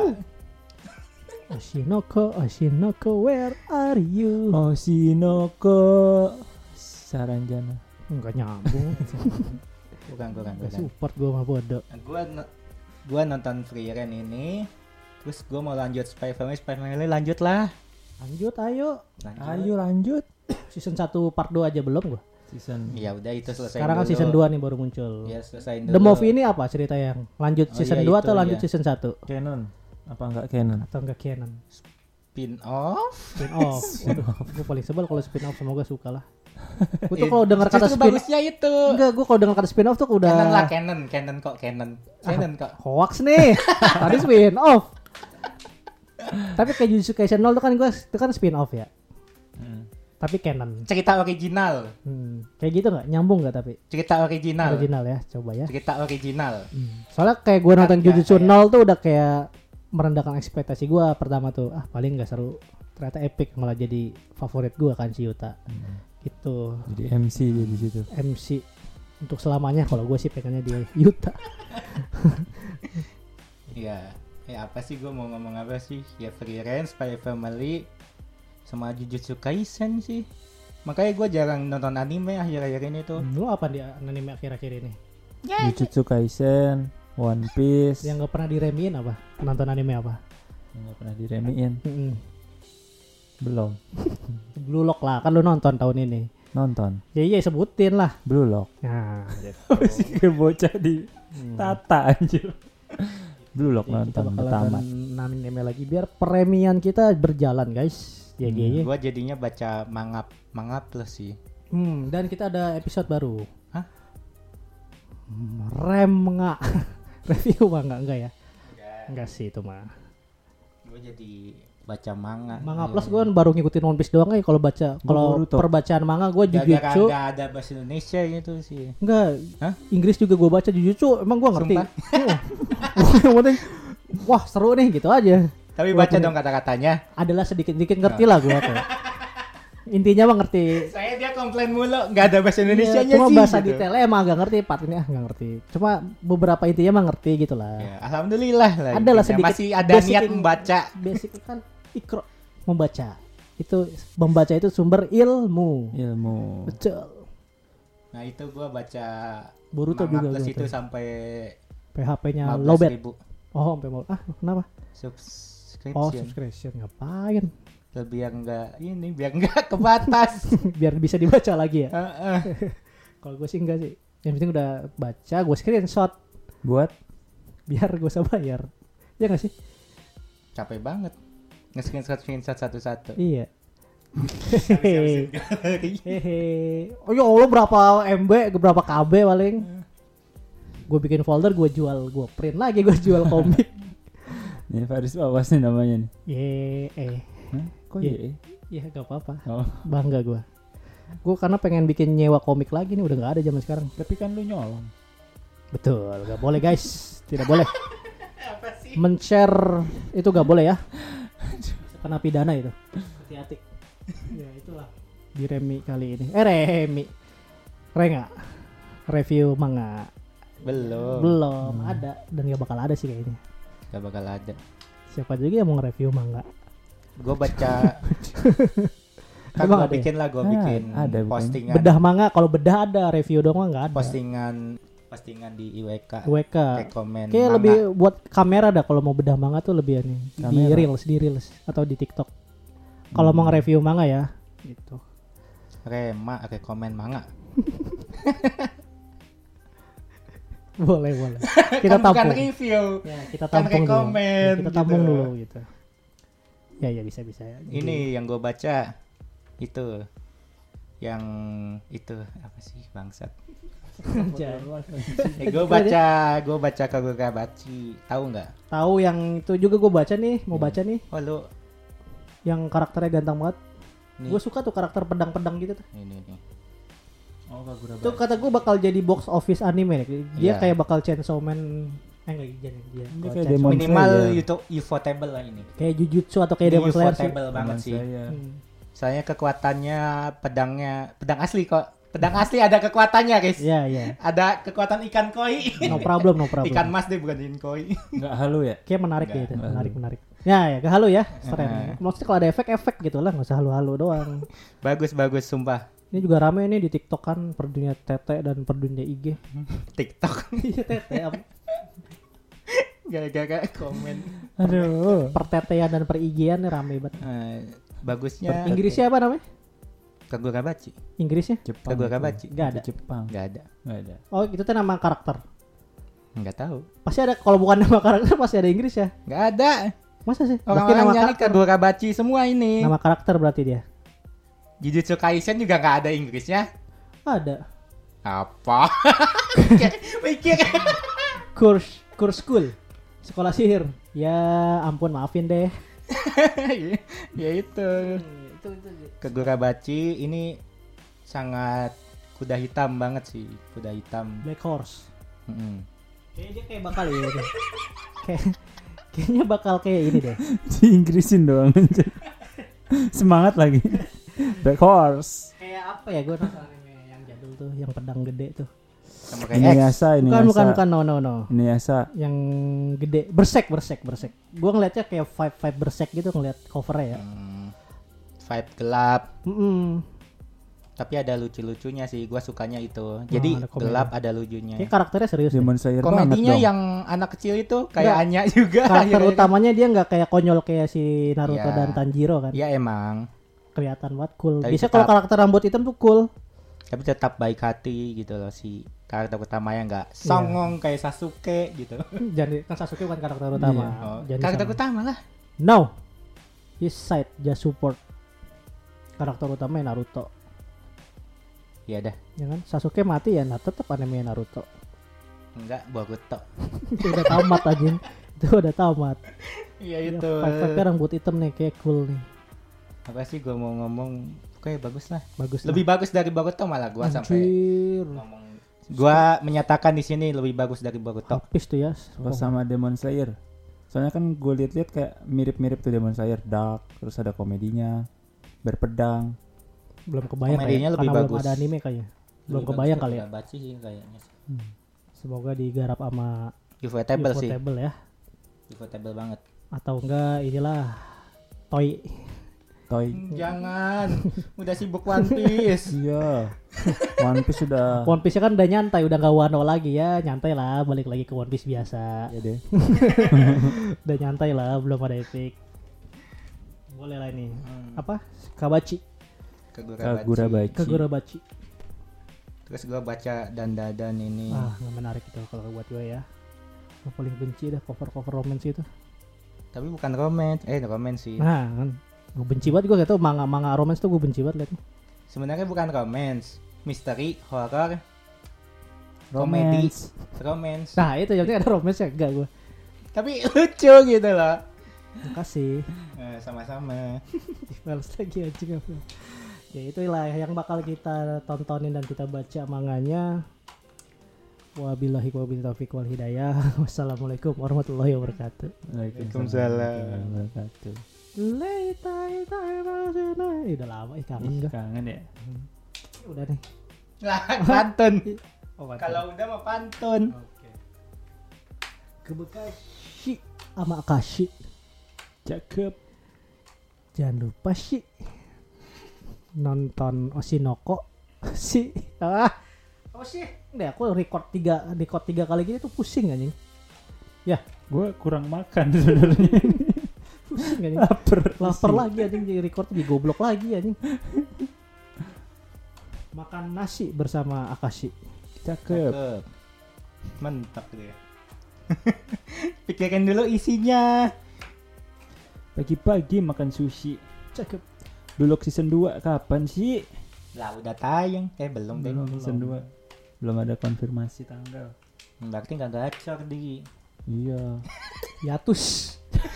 Oshinoko, Oshinoko, where are you? Oshinoko Saranjana. Enggak nyambung. Bukan, bukan, Enggak bukan. support gue mah bodoh. Gua no- gua nonton Free Ren ini, terus gua mau lanjut Spy Family, Spy Family lanjut lah. Lanjut ayo. Lanjut. Ayo lanjut. Season satu part dua aja belum gua. Season Ya udah itu selesai. Sekarang kan dulu. season dua nih baru muncul. Ya selesai The dulu. Movie ini apa cerita yang lanjut Oh, season iya, dua itu, atau lanjut iya. season satu? canon. Apa enggak canon? Atau enggak canon? Spin off. Spin off. Gue paling sebel kalau spin off, semoga suka lah. Gue tuh kalau dengar kata Justru spin bagusnya itu. enggak, gue kalau dengar kata spin off tuh udah Canon lah, canon, canon kok, canon. Canon kok. hoax nih. Tadi spin off. Tapi kayak Jujutsu Kaisen nol tuh kan gue itu kan spin off ya. Hmm. Tapi canon. Cerita original. Hmm. Kayak gitu nggak? Nyambung nggak tapi? Cerita original. Original ya, coba ya. Cerita original. Hmm. Soalnya kayak gue nonton Enggak, Jujutsu kayak- nol tuh udah kayak merendahkan ekspektasi gue pertama tuh. Ah paling nggak seru. Ternyata epic, malah jadi favorit gue kan si Yuta. Gitu. Jadi M C dia di situ. M C untuk selamanya kalau gue sih pengennya dia Yuta. Iya. Ya apa sih gue mau ngomong apa sih? Ya Free Ren, Spy Family, sama Jujutsu Kaisen sih. Makanya gue jarang nonton anime akhir-akhir ini tuh. Lu apa dia anime akhir-akhir ini? Jujutsu Kaisen, One Piece. Yang nggak pernah diremehin apa? Nonton anime apa? Yang nggak pernah diremehin. Mm-mm. Belum. Blue Lock lah, kan lu nonton tahun ini. Nonton. Ya iya sebutin lah. Blue Lock. Nah, Masih kayak bocah di tata anjir. Blue Lock ya, kita nonton udah bakalan tamat. anime lagi biar premian kita berjalan guys. Ya Hmm. ya. Gue jadinya baca manga manga plus sih. Hmm, dan kita ada episode baru. Hah? Hmm, Rem nggak review manga enggak ya? Enggak sih itu mah. Gue jadi baca manga. Manga Iya, plus iya. gue baru ngikutin One Piece doang ya kalau baca kalau Boruto. perbacaan manga gue Gara-gara Jujutsu nggak ada bahasa Indonesia gitu sih. enggak. Hah? Inggris juga gue baca Jujutsu emang gue ngerti. Sumpah? Yang penting wah seru nih gitu aja. Tapi baca Walaupun- dong kata-katanya. Adalah sedikit-sedikit ngerti lah gue kayak. Intinya mah ngerti. Saya dia komplain mulu nggak ada bahasa Indonesia Iya, cuma sih. bahasa gitu. detailnya emang agak ngerti, part ini ah nggak ngerti. Cuma beberapa intinya mah ngerti gitu lah. Ya, alhamdulillah lah. Ada lah intinya. sedikit Masih ada basic niat in- membaca. Basic kan ikro membaca. Itu membaca itu sumber ilmu. Ilmu. Betul. Nah itu gua baca Boruto manga juga plus gua itu tuh. sampai P H P-nya lima belas lowbat. ribu Oh, sampai mau. Ah, kenapa? subscription. Oh, subscription ngapain? Biar enggak ini, biar enggak kebatas. Biar bisa dibaca lagi ya. Heeh. Kalau gue sih enggak sih. Yang penting udah baca, gue screenshot Buat biar gue bisa bayar. Ya nggak sih? Capek banget. Nge-screenshot screenshot satu-satu. Iya. Habisin Hehe. Oh ya Allah berapa M B, berapa K B paling. Gue bikin folder, gue jual, gue print lagi, gue jual komik. ini Faris awas nih namanya nih. Ye, eh, Hah? Kok Iya. ya? ya gak apa-apa. Oh, Bangga gue. Gue karena pengen bikin nyewa komik lagi nih, udah nggak ada zaman sekarang. tapi kan lu nyolong. Betul, gak boleh guys, tidak boleh. Apa sih? Men-share itu gak boleh ya. Kena pidana itu. Hati-hati. Ya itulah di Remi kali ini. Eh Remi. Renga. Review manga. Belum. Belum ada dan gak bakal ada sih kayaknya. Gak bakal ada. Siapa juga yang mau nge-review manga. Gue baca kan Emang gue ada ya? bikin lah, gue Ah, bikin ada bukan? postingan Bedah manga, kalau bedah ada, review doang mah nggak ada. postingan postingan di I W K W K. rekomen Kayak manga. lebih buat kamera dah kalau mau bedah manga tuh lebih nih di Kamera. reels, di reels atau di TikTok. Kalau Hmm. mau nge-review manga ya gitu. Rema, rekomen manga. Boleh, boleh. Kita Kan bukan tampung. review. Ya, kita Kan tampung dulu. rekomen, Ya, kita tampung gitu. dulu gitu. Ya, ya bisa bisa ya. Ini yang gue baca itu yang itu apa sih bangsat? Eh, gue baca gue baca Kagurabachi, tahu nggak? Tahu yang itu juga gue baca nih, mau Hmm. baca nih, Oh lu yang karakternya ganteng banget. nih, Gue suka tuh karakter pedang-pedang gitu tuh. ini nih. Oh, Kagurabachi. Itu kata gue bakal jadi box office anime nih. Dia Iya. kayak bakal Chainsaw Man. Eh enggak jadi dia. Dia Kalau kayak Chainsaw- Demon Minimal Slayer. YouTube ufotable lah ini. kayak Jujutsu atau kayak Ini Demon Slayer sih. ufotable banget sih. Saya. Hmm. Soalnya kekuatannya pedangnya pedang asli kok. Pedang asli ada kekuatannya, guys. Iya, iya. Ada kekuatan ikan koi. No problem, no problem. Ikan mas deh bukan ikan koi. Enggak halu ya? Kayak menarik Enggak, gitu, enggak menarik halu. menarik. Ya, ya, gak halu ya, Heeh. keren. Maksudnya kalau ada efek-efek gitu lah, nggak usah halu-halu doang. Bagus bagus sumpah. Ini juga rame nih di TikTok kan, per dunia tete dan per dunia I G. TikTok Iya tete, apa? gara-gara komen. Aduh. Pertetean dan per I G-an nih rame banget. Eh, bagusnya Inggrisnya apa namanya? Kagurabachi. Inggrisnya? Jepang. Kagurabachi. itu. Nggak ada. Itu Jepang. Enggak ada. Enggak ada. Oh, itu tuh nama karakter. Enggak tahu. Pasti ada, kalau bukan nama karakter pasti ada Inggris ya. Enggak ada. Masa sih? Berarti Orang-orang nama nyari karakter. Kagurabachi semua ini. Nama karakter berarti dia. Jujutsu Kaisen juga enggak ada Inggrisnya. Ada. Apa? Mikir. Course, course school. Sekolah sihir. Ya ampun, maafin deh. Ya itu. itu, itu, Kagurabachi ini sangat kuda hitam banget sih, kuda hitam. Black Horse. Mm-mm. Kayaknya dia kayak bakal ya. Gitu. Kayak kayaknya bakal kayak ini deh. Di Inggrisin doang aja. Semangat lagi. Black Horse. Kayak apa ya, gue nonton anime yang jadul tuh, yang pedang gede tuh. Sama kayak X. Inuyasha, Bukan, Inuyasha. bukan, bukan, no, no, no. Inuyasha. Yang gede, bersek, bersek, bersek. Gue ngeliatnya kayak vibe, vibe bersek gitu ngeliat covernya ya. Hmm, vibe gelap, Mm-mm. tapi ada lucu-lucunya sih. Gua sukanya itu. Jadi ada komedi. gelap ada lucunya. Kayak karakternya serius deh. Demon Slayer banget Komedinya dong. yang anak kecil itu kayak Nggak. Anya juga. Karakter akhirnya. utamanya dia nggak kayak konyol kayak si Naruto Iya. dan Tanjiro kan. Ya emang, Kelihatan banget cool. Tapi Biasanya tetap- kalau karakter rambut hitam tuh cool. tapi tetap baik hati gitu loh si karakter utamanya nggak songong kayak Sasuke gitu. Jadi kan Sasuke bukan karakter utama. Oh, Jadi karakter sama. utama lah. No. His side just support. Karakter utamanya Naruto. Ya dah, Ya kan? Sasuke mati ya, nah tetap anime Naruto. enggak Boruto. Itu udah tamat anjing. Itu udah tamat. Iya Ya, itu. Five-five rambut hitam nih kayak cool nih. Apa sih gua mau ngomong kayak bagus lah. Bagus. Lebih bagus dari Boruto malah gua sampai Anjir. ngomong. Gua menyatakan di sini lebih bagus dari Boruto. Habis tuh ya. Pas sama Demon Slayer. Soalnya kan gue liat-liat kayak mirip-mirip tuh Demon Slayer, dark, terus ada komedinya, berpedang. Belum kebayang Komedinya kayak, lebih karena bagus. belum ada anime kayaknya. Belum Lebih kebayang bagus kali ya. Kagurabachi sih kayaknya. Semoga digarap sama Ufotable sih. Ufotable ya. Ufotable banget. Atau enggak inilah Toy. Toy. Jangan, udah sibuk One Piece. Iya. One Piece sudah. One Piece kan udah nyantai, udah nggak Wano lagi ya, nyantai lah, balik lagi ke One Piece biasa. Ya deh. Udah nyantai lah, belum ada epic. Boleh lah ini. Hmm. Apa? Kabachi. Kagurabachi. Kagurabachi. Kagurabachi. Terus gua baca dan-dan ini. Ah, nggak menarik itu kalau buat gue ya. Gue paling benci dah cover-cover romance itu. Tapi bukan romance, eh romance sih. Nah, kan. Gue benci banget, gue gak tau manga-manga romance tuh gue benci banget liatnya. Sebenarnya bukan romance, misteri, horror, komedi, Romance. romance. Nah itu yang penting ada romance ya, enggak gue. Tapi lucu gitu loh. Makasih. Eh, sama-sama. Males lagi anjing apa. Ya itulah yang bakal kita tontonin dan kita baca manganya. Wabillahi wabillahi taufiq wal hidayah. Wassalamualaikum warahmatullahi wabarakatuh. Waalaikumsalam. warahmatullahi wabarakatuh. Leitai tai rasana. Ih, udah lama ih kangen gue. Kangen ya. Udah nih. Lah, pantun. Oh, Kalau udah mah pantun. oke. Kebekashi sama Akashi. Cakep. Jangan lupa sih nonton Oshinoko si ah apa sih? Udah aku record tiga record tiga kali gini tuh pusing anjing. Ya, Gue kurang makan sebenarnya. pusing anjing. Laper. Lapar lagi anjing, jadi record di goblok lagi anjing. Makan nasi bersama Akashi. Cakep. Cakep. Mantap gitu ya. Pikirkan dulu isinya. Pagi-pagi makan sushi. Cakep. Bulog season dua kapan sih? Lah udah tayang. Eh belum deh. Belum season dua. Belum ada konfirmasi tanggal. Berarti nggak gacor di. Iya. Yatus.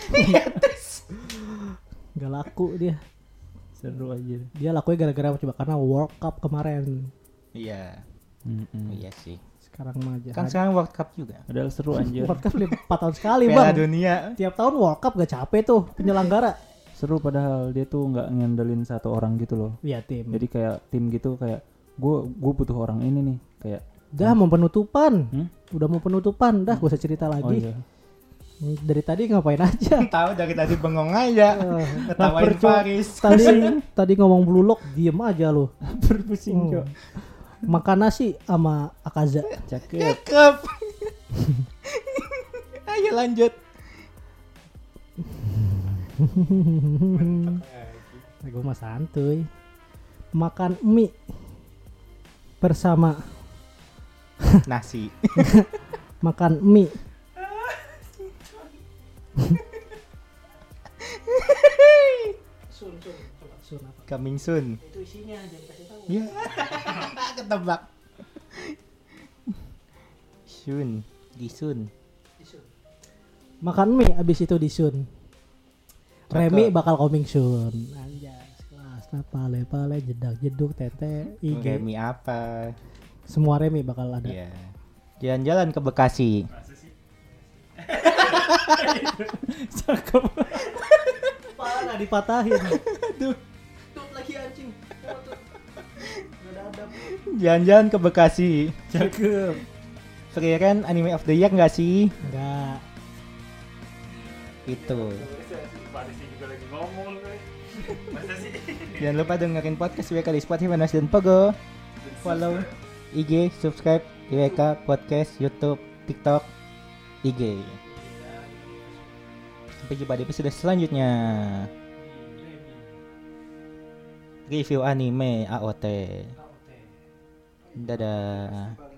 Gak laku dia. Seru aja. Dia lakunya gara-gara coba karena World Cup kemarin. Iya. Mm-mm. Iya sih. Sekarang mah aja. Kan sekarang World Cup juga. Padahal seru anjir. World Cup empat tahun sekali Piala bang. Dunia. Tiap tahun World Cup gak capek tuh penyelenggara. Seru padahal dia tuh nggak ngandelin satu orang gitu loh. Iya tim. Jadi kayak tim gitu kayak gue gue butuh orang ini nih kayak. Dah mau penutupan. Hmm? Udah mau penutupan. Dah gue usah cerita Oh lagi. iya. Dari tadi ngapain aja. Tahu dari tadi bengong aja. Eh, Ketawain percuma. Paris. Tadi tadi ngomong blue lock diem aja lu. Berpusing Hmm. kok. Makan nasi sama Akaza. Cakep. Cakep. Ayo lanjut. Gue mah santuy. Makan mie bersama Nasi. makan mie sun sun coba sun apa Coming soon. itu isinya jangan kasih tahu Ya. Ketebak. Sun. Di Sun. makan mie abis itu disun. Cakep. Remi bakal coming soon. Anjas kelas nah, pale pale jedak jeduk tete I G Remi apa? semua Remi bakal ada. Iya. Jalan-jalan ke Bekasi. Cakep. Kepala nggak dipatahin. Aduh. Tut lagi anjing. Nggak ada adab. Jalan-jalan ke Bekasi. Cakep. Frieren Anime of the Year nggak sih? Enggak. Itu. Jangan lupa dengerin podcast W K di Spotify, Manas dan Pogo. Follow I G, subscribe W K Podcast, YouTube, TikTok, I G. Sampai jumpa di episode selanjutnya. Review anime A O T. Dadah.